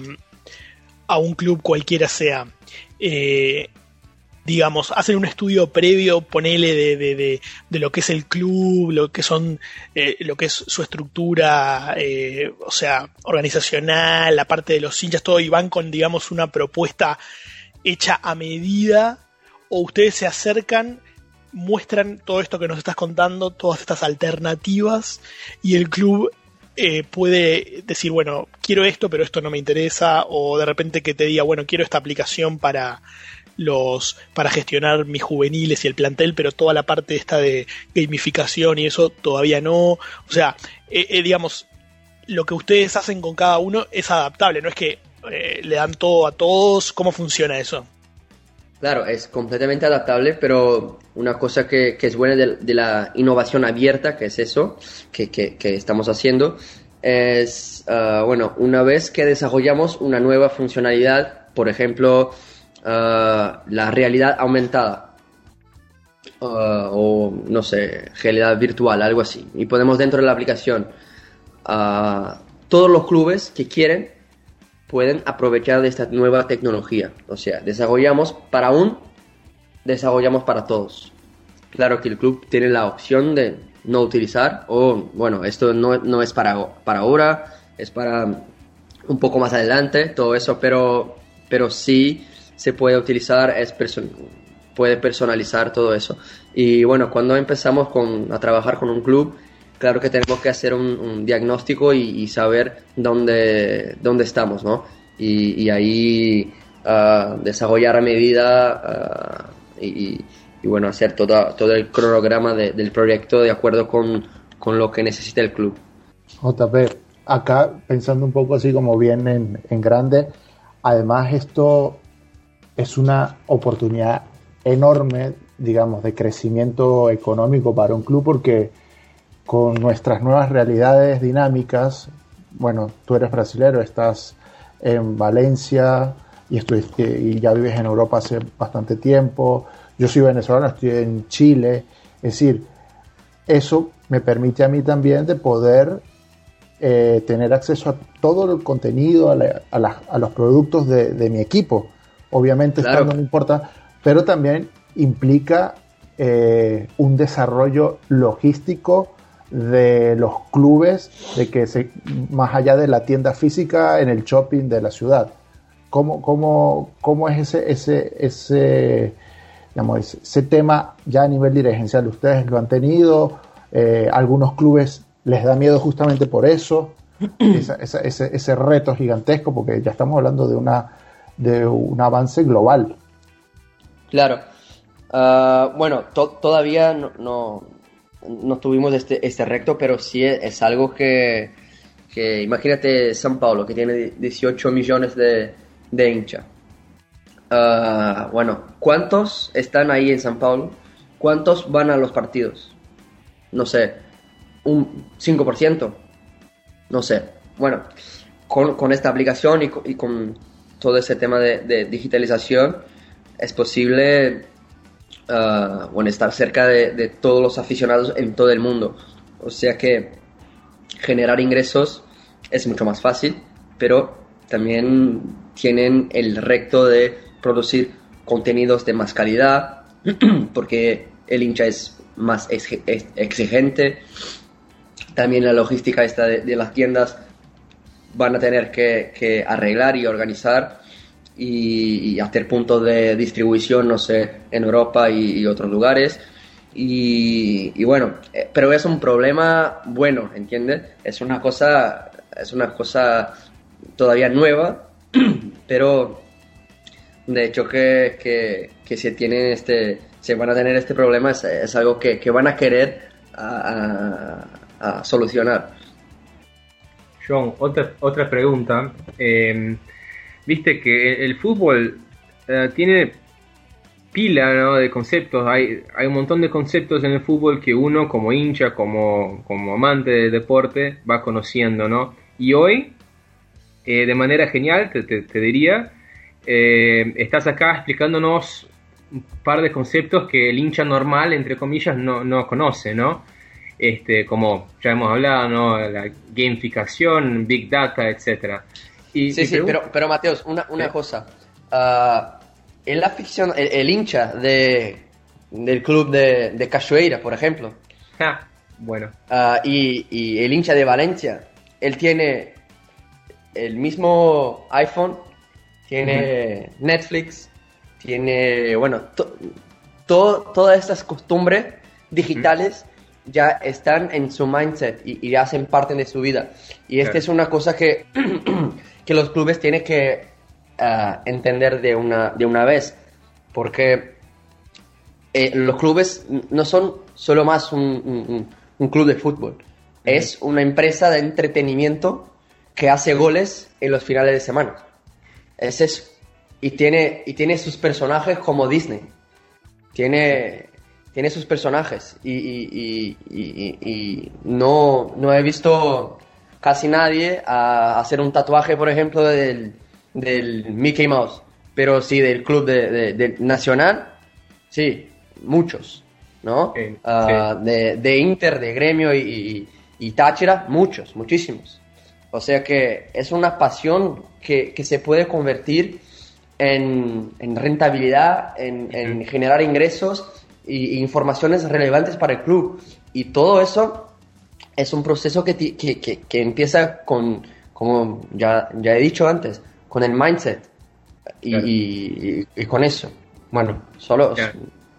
a un club cualquiera sea, eh, digamos, hacen un estudio previo, ponele, de, de, de, de lo que es el club, lo que son, eh, lo que es su estructura, eh, o sea, organizacional, la parte de los hinchas, todo, y van con, digamos, una propuesta hecha a medida, o ustedes se acercan, muestran todo esto que nos estás contando, todas estas alternativas, y el club eh, puede decir, bueno, quiero esto, pero esto no me interesa, o de repente que te diga, bueno, quiero esta aplicación para los para gestionar mis juveniles y el plantel, pero toda la parte esta de gamificación y eso todavía no. O sea, eh, eh, digamos, lo que ustedes hacen con cada uno es adaptable, no es que eh, le dan todo a todos. ¿Cómo funciona eso? Claro, es completamente adaptable, pero una cosa que, que es buena de, de la innovación abierta, que es eso que, que, que estamos haciendo, es, uh, bueno, una vez que desarrollamos una nueva funcionalidad, por ejemplo, uh, la realidad aumentada, uh, o no sé, realidad virtual, algo así, y podemos dentro de la aplicación, uh, todos los clubes que quieren pueden aprovechar de esta nueva tecnología. O sea, desarrollamos para un, desarrollamos para todos. Claro que el club tiene la opción de no utilizar, o bueno, esto no, no es para, para ahora, es para un poco más adelante, todo eso, pero, pero sí se puede utilizar, es person- puede personalizar todo eso. Y bueno, cuando empezamos con, a trabajar con un club, claro que tenemos que hacer un, un diagnóstico y, y saber dónde, dónde estamos, ¿no? Y, y ahí uh, desarrollar a medida uh, y, y, bueno, hacer todo, todo el cronograma de, del proyecto de acuerdo con, con lo que necesita el club. J P, acá pensando un poco así como bien en, en grande, además esto es una oportunidad enorme, digamos, de crecimiento económico para un club, porque con nuestras nuevas realidades dinámicas, bueno, tú eres brasilero, estás en Valencia y, estuviste, y ya vives en Europa hace bastante tiempo, yo soy venezolano, estoy en Chile, es decir, eso me permite a mí también de poder eh, tener acceso a todo el contenido, a, la, a, la, a los productos de, de mi equipo, obviamente claro. Estando no importa, pero también implica eh, un desarrollo logístico de los clubes, de que se, más allá de la tienda física, en el shopping de la ciudad. ¿Cómo, cómo, cómo es ese, ese, ese, digamos, ese tema ya a nivel dirigencial? ¿Ustedes lo han tenido? Eh, ¿Algunos clubes les da miedo justamente por eso? esa, esa, ese, ese reto gigantesco, porque ya estamos hablando de, una, de un avance global. Claro. Uh, bueno, to- todavía no... no... no tuvimos este, este reto, pero sí es, es algo que, que, imagínate São Paulo, que tiene dieciocho millones de, de hinchas. Uh, bueno, ¿cuántos están ahí en San Paulo? ¿Cuántos van a los partidos? No sé, un cinco por ciento. No sé. Bueno, con, con esta aplicación y con, y con todo ese tema de, de digitalización es posible uh, bueno, estar cerca de, de todos los aficionados en todo el mundo. O sea que generar ingresos es mucho más fácil, pero también tienen el reto de producir contenidos de más calidad, porque el hincha es más exigente. También la logística esta de, de las tiendas van a tener que, que arreglar y organizar y, y hacer puntos de distribución, no sé, en Europa y, y otros lugares. Y, y bueno, eh, pero es un problema bueno, ¿entiendes? Es una cosa, es una cosa todavía nueva, pero de hecho que, que, que se tienen este, se van a tener este problema es, es algo que, que van a querer a, a, a solucionar. John, otra, otra pregunta. Eh, Viste que el fútbol eh, tiene pila, ¿no?, de conceptos. Hay, hay un montón de conceptos en el fútbol que uno como hincha, como, como amante del deporte, va conociendo, ¿no? Y hoy, eh, de manera genial, te, te, te diría, eh, estás acá explicándonos un par de conceptos que el hincha normal, entre comillas, no, no conoce, ¿no? Este, como ya hemos hablado, ¿no?, la gamificación, Big Data, etcétera. Y, sí, y sí, pregun- pero, pero Mateos, una, una sí. cosa. Uh, el afición, el, el hincha de, del club de, de Cachoeira, por ejemplo, Ah, bueno. uh, y, y el hincha de Valencia, él tiene el mismo iPhone, tiene uh-huh. Netflix, tiene, bueno, to, to, todas estas costumbres digitales uh-huh. ya están en su mindset y, y hacen parte de su vida. Y esta claro. es una cosa que, que los clubes tienen que uh, entender de una, de una vez, porque eh, los clubes no son solo más un, un, un club de fútbol, uh-huh. es una empresa de entretenimiento que hace goles en los finales de semana. Es eso. Y tiene, y tiene sus personajes como Disney. Tiene, tiene sus personajes. Y, y, y, y, y no, no he visto casi nadie a hacer un tatuaje, por ejemplo, del, del Mickey Mouse. Pero sí, del club de, de, de Nacional, sí, muchos, ¿no? Sí, uh, sí. De, de Inter, de Gremio y, y, y Táchira, muchos, muchísimos. O sea que es una pasión que, que se puede convertir en, en rentabilidad, en, en generar ingresos e informaciones relevantes para el club. Y todo eso es un proceso que, que, que, que empieza con, como ya, ya he dicho antes, con el mindset y, claro. y, y, y con eso. Bueno, solo... Claro.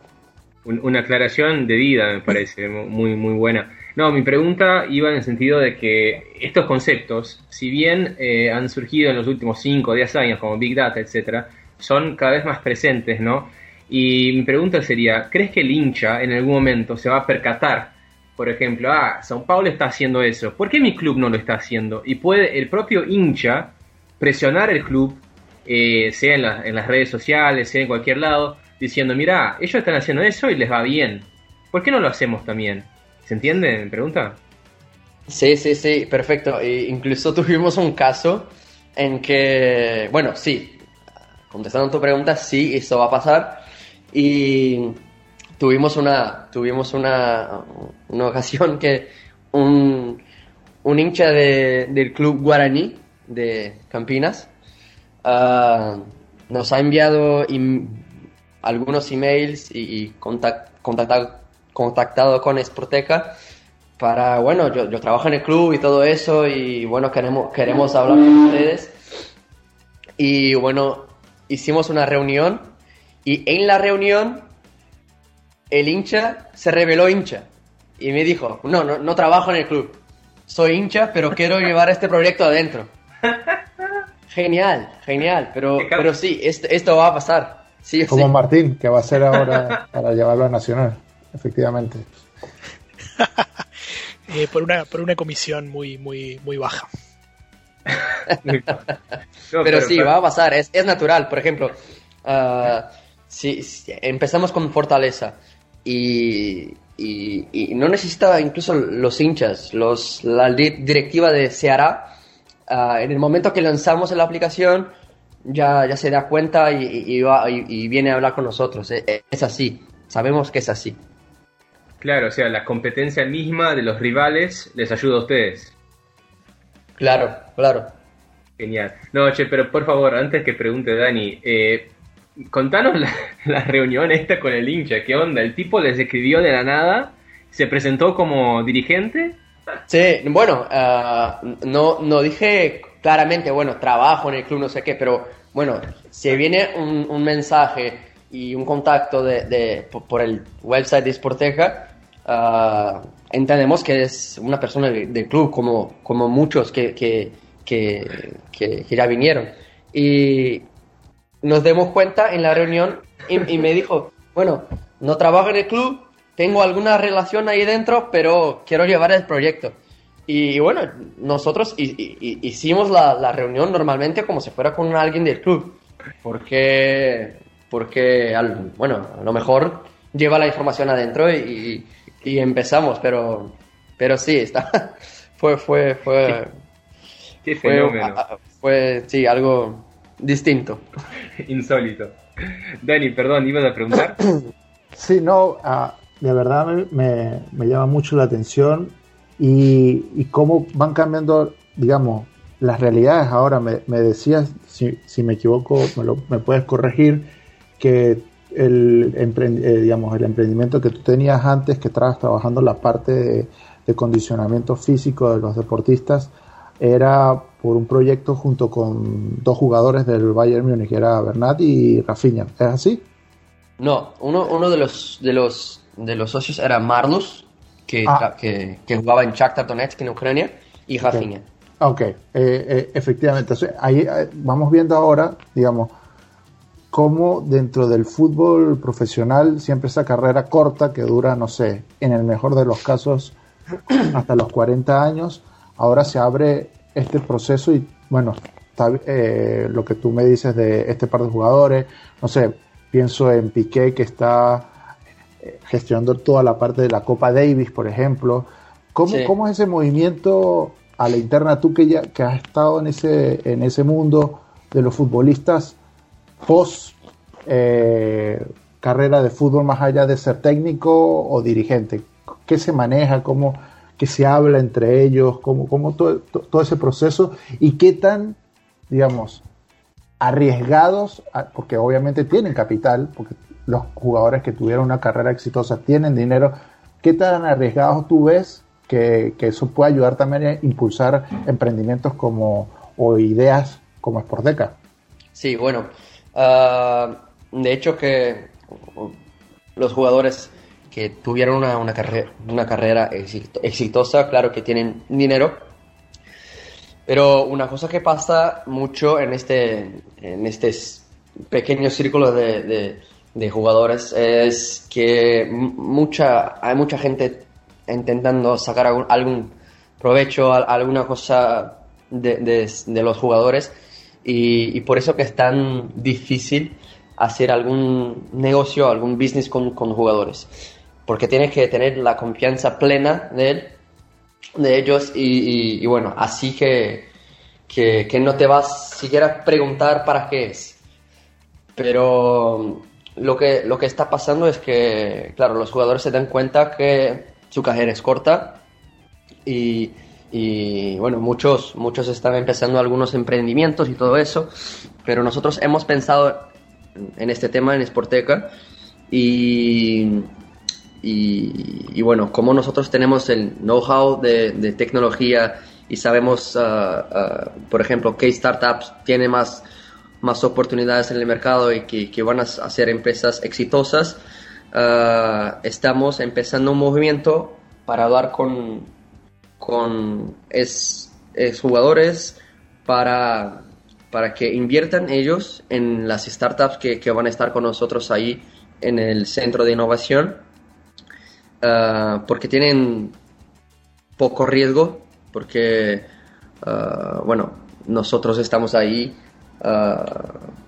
Una aclaración de vida me parece muy, muy buena. No, mi pregunta iba en el sentido de que estos conceptos, si bien eh, han surgido en los últimos cinco o diez años, como Big Data, etcétera, son cada vez más presentes, ¿no? Y mi pregunta sería, ¿crees que el hincha en algún momento se va a percatar, por ejemplo, ah, São Paulo está haciendo eso, ¿por qué mi club no lo está haciendo? Y puede el propio hincha presionar el club, eh, sea en, la, en las redes sociales, sea en cualquier lado, diciendo, mira, ellos están haciendo eso y les va bien, ¿por qué no lo hacemos también? ¿Se entiende mi pregunta? Sí, sí, sí, perfecto. E incluso tuvimos un caso en que, bueno, sí, contestando a tu pregunta, sí, eso va a pasar. Y tuvimos una, tuvimos una, una ocasión que un, un hincha de, del club Guaraní de Campinas uh, nos ha enviado im, algunos emails y, y contact, contactado contactado con Sporteca para, bueno, yo, yo trabajo en el club y todo eso y bueno, queremos, queremos hablar con ustedes y bueno, hicimos una reunión y en la reunión el hincha se reveló hincha y me dijo, no, no, no trabajo en el club, soy hincha pero quiero llevar este proyecto adentro. Genial, genial, pero, pero sí, esto, esto va a pasar. Sí, como sí. Martín, que va a ser ahora para llevarlo a Nacional. Efectivamente. eh, por una por una comisión muy muy muy baja. no, pero, pero sí, pero... va a pasar, es, es natural. Por ejemplo, uh, sí, sí, empezamos con fortaleza y, y, y no necesita incluso los hinchas, los, la directiva de Ceará, uh, en el momento que lanzamos la aplicación ya, ya se da cuenta y, y, y, va, y, y viene a hablar con nosotros. Es, es así, sabemos que es así. Claro, o sea, la competencia misma de los rivales les ayuda a ustedes. Claro, claro. Genial. No, che, pero por favor, antes que pregunte Dani, eh, contanos la, la reunión esta con el hincha. ¿Qué onda? ¿El tipo les escribió de la nada? ¿Se presentó como dirigente? Sí, bueno, uh, no, no dije claramente, bueno, trabajo en el club, no sé qué, pero bueno, si viene un, un mensaje y un contacto de, de, por el website de Sporteca, uh, entendemos que es una persona del, del club, como, como muchos que, que, que, que, que ya vinieron. Y nos dimos cuenta en la reunión y, y me dijo, bueno, no trabajo en el club, tengo alguna relación ahí dentro, pero quiero llevar el proyecto. Y bueno, nosotros hi, hi, hicimos la, la reunión normalmente como si fuera con alguien del club, porque, porque al, bueno, a lo mejor lleva la información adentro y, y empezamos, pero, pero sí, está, fue, fue, fue, qué fenómeno. Fue, fue, sí, algo distinto. Insólito. Dani, perdón, ¿ibas a preguntar? Sí, no, uh, de verdad me, me, me llama mucho la atención y, y cómo van cambiando, digamos, las realidades. Ahora me, me decías, si, si me equivoco, me, lo, me puedes corregir, que el, emprend, eh, digamos, el emprendimiento que tú tenías antes, que estabas trabajando la parte de, de condicionamiento físico de los deportistas, era por un proyecto junto con dos jugadores del Bayern Múnich, que era Bernat y Rafinha. ¿Es así? No, uno, uno de los de los de los socios era Marlus, que, ah. que, que jugaba en Shakhtar Donetsk en Ucrania, y Rafinha. Ok, okay. eh, eh, efectivamente. Entonces, ahí eh, vamos viendo ahora, digamos, cómo dentro del fútbol profesional, siempre esa carrera corta que dura, no sé, en el mejor de los casos, hasta los cuarenta años, ahora se abre este proceso y, bueno, está, eh, lo que tú me dices de este par de jugadores, no sé, pienso en Piqué, que está eh, gestionando toda la parte de la Copa Davis, por ejemplo. ¿Cómo, sí. ¿Cómo es ese movimiento a la interna? Tú que ya que has estado en ese, en ese mundo de los futbolistas post eh, carrera de fútbol, más allá de ser técnico o dirigente, ¿qué se maneja? ¿Cómo que se habla entre ellos? ¿Cómo, cómo todo, todo ese proceso? ¿Y qué tan, digamos, arriesgados, porque obviamente tienen capital, porque los jugadores que tuvieron una carrera exitosa tienen dinero, qué tan arriesgados tú ves que, que eso puede ayudar también a impulsar emprendimientos como o ideas como Sporteca? Sí, bueno, uh, de hecho que los jugadores que tuvieron una, una, carrera, una carrera exitosa, claro que tienen dinero. Pero una cosa que pasa mucho en este, en este pequeño círculo de, de, de jugadores es que mucha, hay mucha gente intentando sacar algún, algún provecho, alguna cosa de, de, de los jugadores y, y por eso que es tan difícil hacer algún negocio, algún business con, con jugadores. Porque tienes que tener la confianza plena de él. de ellos y, y, y bueno, así que, que, que no te vas siquiera a preguntar para qué es. Pero lo que, lo que está pasando es que, claro, los jugadores se dan cuenta que su carrera es corta y, y bueno, muchos, muchos están empezando algunos emprendimientos y todo eso, pero nosotros hemos pensado en este tema en Sporteca y... Y, y bueno, como nosotros tenemos el know-how de, de tecnología y sabemos, uh, uh, por ejemplo, qué startups tienen más, más oportunidades en el mercado y que, que van a ser empresas exitosas, uh, estamos empezando un movimiento para hablar con, con es, es jugadores para, para que inviertan ellos en las startups que, que van a estar con nosotros ahí en el centro de innovación. Uh, porque tienen poco riesgo, porque uh, bueno, nosotros estamos ahí uh,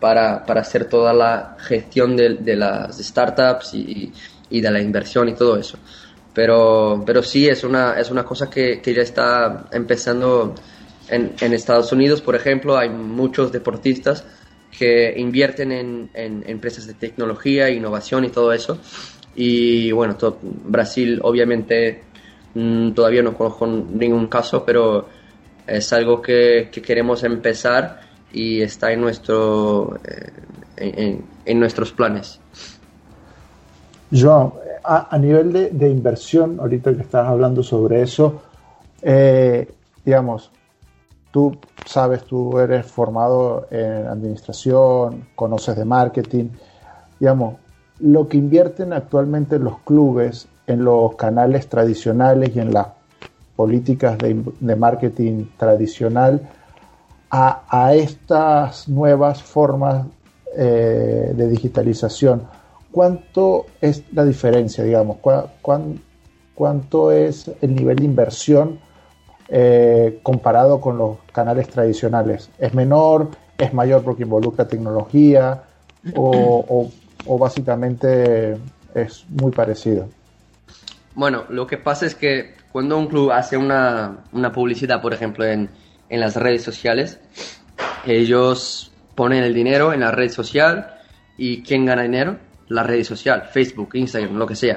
para, para hacer toda la gestión de, de las startups y, y de la inversión y todo eso. Pero, pero sí, es una, es una cosa que, que ya está empezando en, en Estados Unidos, por ejemplo. Hay muchos deportistas que invierten en, en empresas de tecnología, innovación y todo eso. Y bueno, to- Brasil obviamente mmm, todavía no conozco ningún caso, pero es algo que, que queremos empezar y está en, nuestro, eh, en, en nuestros planes. Joan, a, a nivel de, de inversión, ahorita que estás hablando sobre eso, eh, digamos, tú sabes, tú eres formado en administración, conoces de marketing, digamos, lo que invierten actualmente los clubes en los canales tradicionales y en las políticas de, de marketing tradicional a, a estas nuevas formas eh, de digitalización, ¿cuánto es la diferencia, digamos? ¿Cu- cuán, ¿Cuánto es el nivel de inversión eh, comparado con los canales tradicionales? ¿Es menor? ¿Es mayor porque involucra tecnología? ¿O, o, o básicamente es muy parecido? Bueno, lo que pasa es que cuando un club hace una, una publicidad, por ejemplo, en, en las redes sociales, ellos ponen el dinero en la red social y ¿quién gana dinero? La red social, Facebook, Instagram, lo que sea.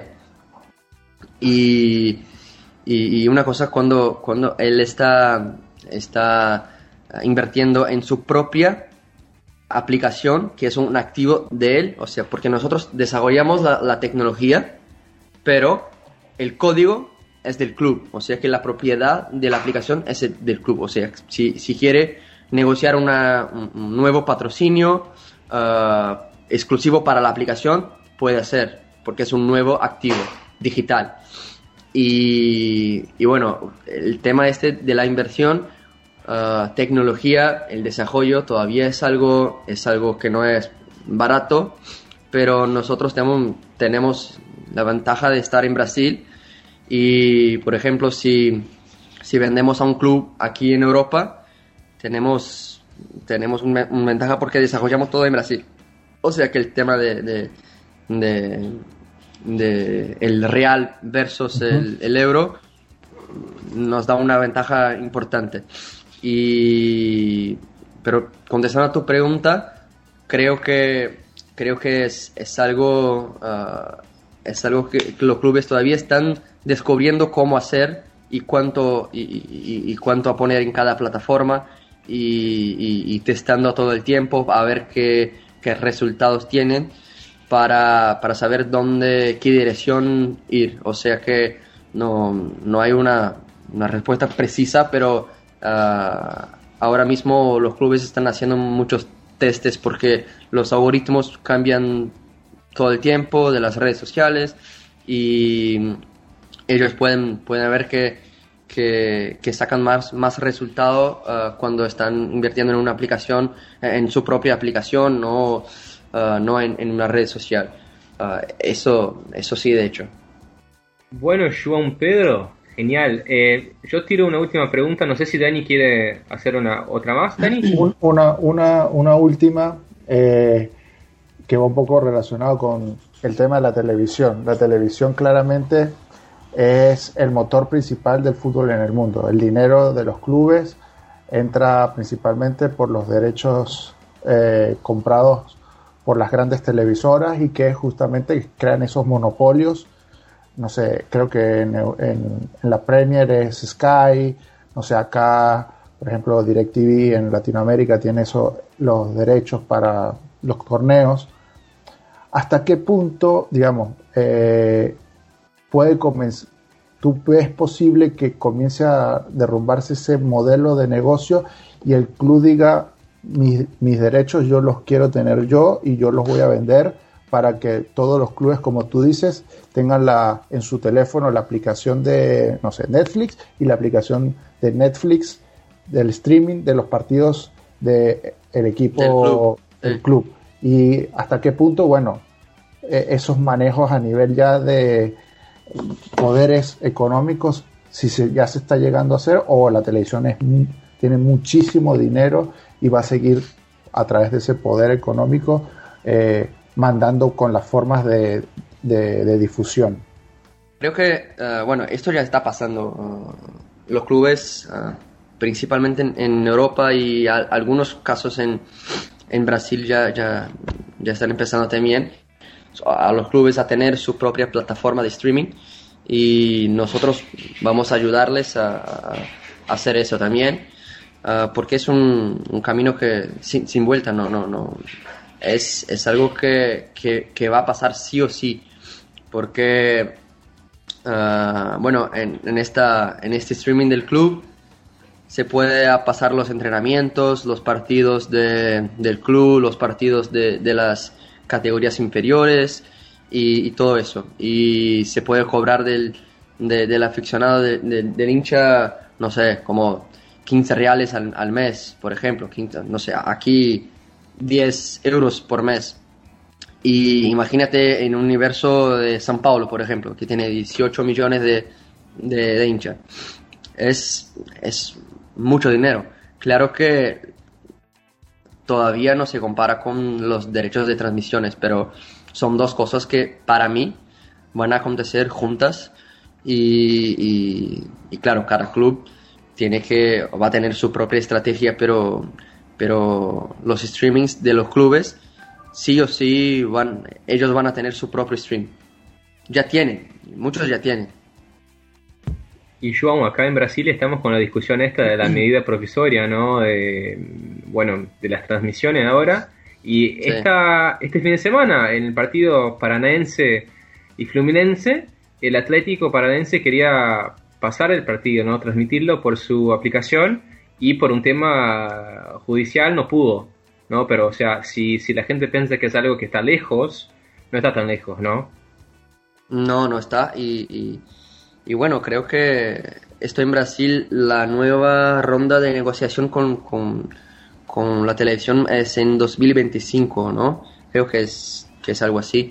Y, y, y una cosa, cuando, cuando él está, está invirtiendo en su propia aplicación, que es un activo de él, o sea, porque nosotros desarrollamos la, la tecnología, pero el código es del club, o sea que la propiedad de la aplicación es el, del club, o sea, si, si quiere negociar una, un, un nuevo patrocinio uh, exclusivo para la aplicación, puede hacer, porque es un nuevo activo digital. Y, y bueno, el tema este de la inversión, uh, tecnología, el desarrollo todavía es algo, es algo que no es barato, pero nosotros tenemos, tenemos la ventaja de estar en Brasil y, por ejemplo, si, si vendemos a un club aquí en Europa, tenemos, tenemos una un ventaja porque desarrollamos todo en Brasil. O sea que el tema de, de, de, de el real versus uh-huh. el, el euro nos da una ventaja importante. Y, pero contestando a tu pregunta, creo que, creo que es, es algo... Uh, es algo que, que los clubes todavía están descubriendo cómo hacer y cuánto, y, y, y cuánto a poner en cada plataforma y, y, y testando todo el tiempo a ver qué, qué resultados tienen para, para saber dónde, qué dirección ir. O sea que no, no hay una, una respuesta precisa, pero uh, ahora mismo los clubes están haciendo muchos testes porque los algoritmos cambian todo el tiempo de las redes sociales y ellos pueden, pueden ver que, que, que sacan más, más resultado uh, cuando están invirtiendo en una aplicación, en su propia aplicación, no, uh, no en, en una red social. Uh, eso, eso sí, de hecho. Bueno, Joan Pedro, genial. Eh, yo tiro una última pregunta, no sé si Dani quiere hacer una otra más, Dani. Una, una, una última... Eh... que va un poco relacionado con el tema de la televisión. La televisión claramente es el motor principal del fútbol en el mundo. El dinero de los clubes entra principalmente por los derechos eh, comprados por las grandes televisoras y que justamente crean esos monopolios. No sé, creo que en, en, en la Premier es Sky, no sé, acá, por ejemplo, DirecTV en Latinoamérica tiene eso, los derechos para los torneos. ¿Hasta qué punto, digamos, eh, puede comenzar, tú ves posible que comience a derrumbarse ese modelo de negocio y el club diga, mis, mis derechos yo los quiero tener yo y yo los voy a vender para que todos los clubes, como tú dices, tengan la, en su teléfono la aplicación de, no sé, Netflix y la aplicación de Netflix del streaming de los partidos del equipo del club. del club? Y hasta qué punto, bueno, eh, esos manejos a nivel ya de poderes económicos, si se, ya se está llegando a hacer, o la televisión es, tiene muchísimo dinero y va a seguir a través de ese poder económico, eh, mandando con las formas de, de, de difusión. Creo que, uh, bueno, esto ya está pasando. Uh, los clubes, uh, principalmente en, en Europa y a, algunos casos en, en Brasil ya, ya, ya están empezando también a los clubes a tener su propia plataforma de streaming, y nosotros vamos a ayudarles a, a hacer eso también, uh, porque es un, un camino que sin, sin vuelta, no, no, no. Es, es algo que, que, que va a pasar sí o sí, porque uh, bueno, en, en, esta, en este streaming del club se puede pasar los entrenamientos, los partidos de, del club, los partidos de, de las categorías inferiores y, y todo eso, y se puede cobrar del, de, del aficionado, de, de, del hincha, no sé, como quince reales al, al mes, por ejemplo, quince, no sé, aquí diez euros por mes. Y imagínate en un universo de São Paulo, por ejemplo, que tiene dieciocho millones de, de, de hinchas. Es, es mucho dinero. Claro que todavía no se compara con los derechos de transmisiones, pero son dos cosas que para mí van a acontecer juntas, y, y, y claro, cada club tiene que, va a tener su propia estrategia, pero, pero los streamings de los clubes sí o sí van, ellos van a tener su propio stream. Ya tienen, muchos ya tienen. Y João, acá en Brasil estamos con la discusión esta de la medida provisoria, ¿no? De, bueno, de las transmisiones ahora. Y Sí. esta, este fin de semana, en el partido paranaense y fluminense, el Atlético Paranaense quería pasar el partido, ¿no? Transmitirlo por su aplicación, y por un tema judicial no pudo, ¿no? Pero, o sea, si, si la gente piensa que es algo que está lejos, no está tan lejos, ¿no? No, no está. Y, y, y bueno, creo que esto en Brasil, la nueva ronda de negociación con, con, con la televisión es en dos mil veinticinco, ¿no? Creo que es, que es algo así.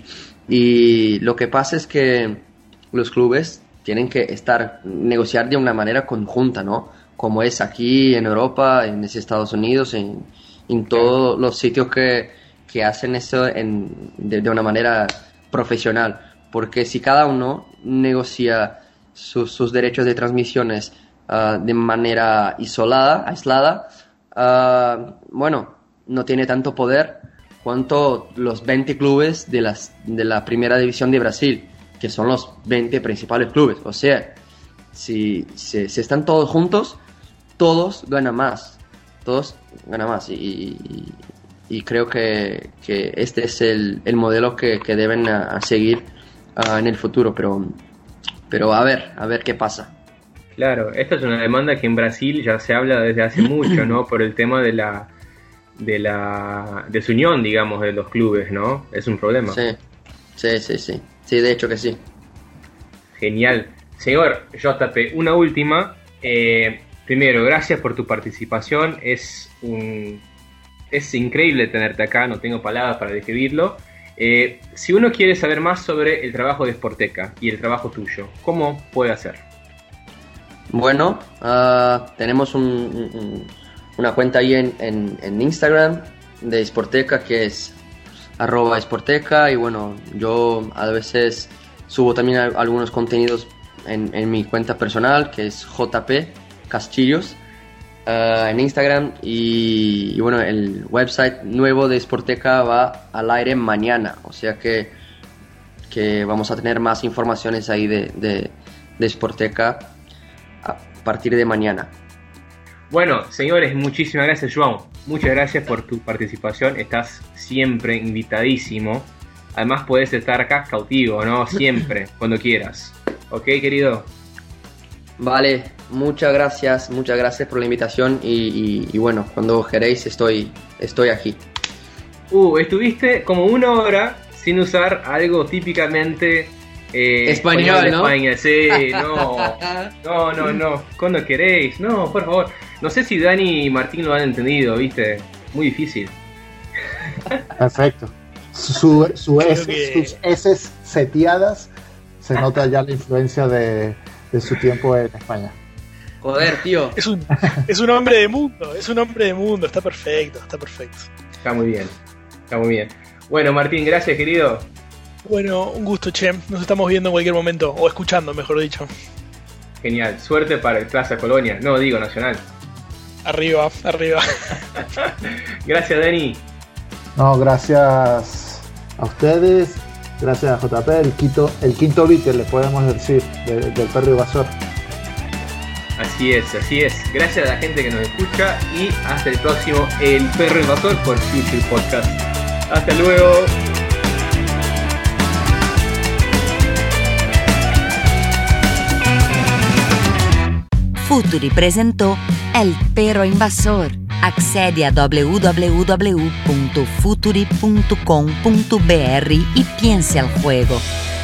Y lo que pasa es que los clubes tienen que estar, negociar de una manera conjunta, ¿no? Como es aquí en Europa, en Estados Unidos, en, en todos los sitios que, que hacen eso en, de, de una manera profesional. Porque si cada uno negocia sus, sus derechos de transmisiones uh, de manera isolada, aislada, uh, bueno, no tiene tanto poder cuanto los veinte clubes de, las, de la primera división de Brasil, que son los veinte principales clubes. O sea, si, si, si están todos juntos, todos ganan más, todos ganan más, y, y, y creo que, que este es el, el modelo que, que deben a, a seguir uh, en el futuro, pero, pero a ver, a ver qué pasa. Claro, esta es una demanda que en Brasil ya se habla desde hace mucho, ¿no? Por el tema de la de la desunión, digamos, de los clubes, ¿no? Es un problema. Sí, sí, sí, sí, sí, de hecho que sí. Genial. Señor J P, una última. Eh, primero, gracias por tu participación. Es un es increíble tenerte acá, no tengo palabras para describirlo. Eh, si uno quiere saber más sobre el trabajo de Sporteca y el trabajo tuyo, ¿cómo puede hacer? Bueno, uh, tenemos un, un, una cuenta ahí en, en, en Instagram de Sporteca, que es arroba Sporteca, y bueno, yo a veces subo también algunos contenidos en, en mi cuenta personal, que es J P Castillos, uh, en Instagram, y, y bueno, el website nuevo de Sporteca va al aire mañana, o sea que, que vamos a tener más informaciones ahí de, de, de Sporteca a partir de mañana. Bueno, señores, muchísimas gracias, João. Muchas gracias por tu participación. Estás siempre invitadísimo. Además, puedes estar acá cautivo, ¿no? Siempre, cuando quieras. ¿Ok, querido? Vale, muchas gracias, muchas gracias por la invitación, y, y, y bueno, cuando queréis estoy, estoy aquí. Uh, estuviste como una hora sin usar algo típicamente... Eh, español, de ¿no? España, sí, no, no, no, no, cuando queréis, no, por favor. No sé si Dani y Martín lo han entendido, viste, muy difícil. Perfecto. Su, su S, que... Sus S seteadas, se nota ya la influencia de, de su tiempo en España. Joder, tío. Es un, es un hombre de mundo, es un hombre de mundo, está perfecto, está perfecto. Está muy bien, está muy bien. Bueno, Martín, gracias, querido. Bueno, un gusto, che. Nos estamos viendo en cualquier momento, o escuchando, mejor dicho. Genial, suerte para el Plaza Colonia, no digo Nacional. Arriba, arriba. Gracias, Dani. No, gracias a ustedes, gracias a J P, el quinto, el quinto beat, le podemos decir, de, del Perro Invasor. Así es, así es. Gracias a la gente que nos escucha y hasta el próximo El Perro Invasor por Future Podcast. Hasta luego. Futuri presentò El Perro Invasor. Accedi a w w w punto futuri punto com punto b r y piense al juego.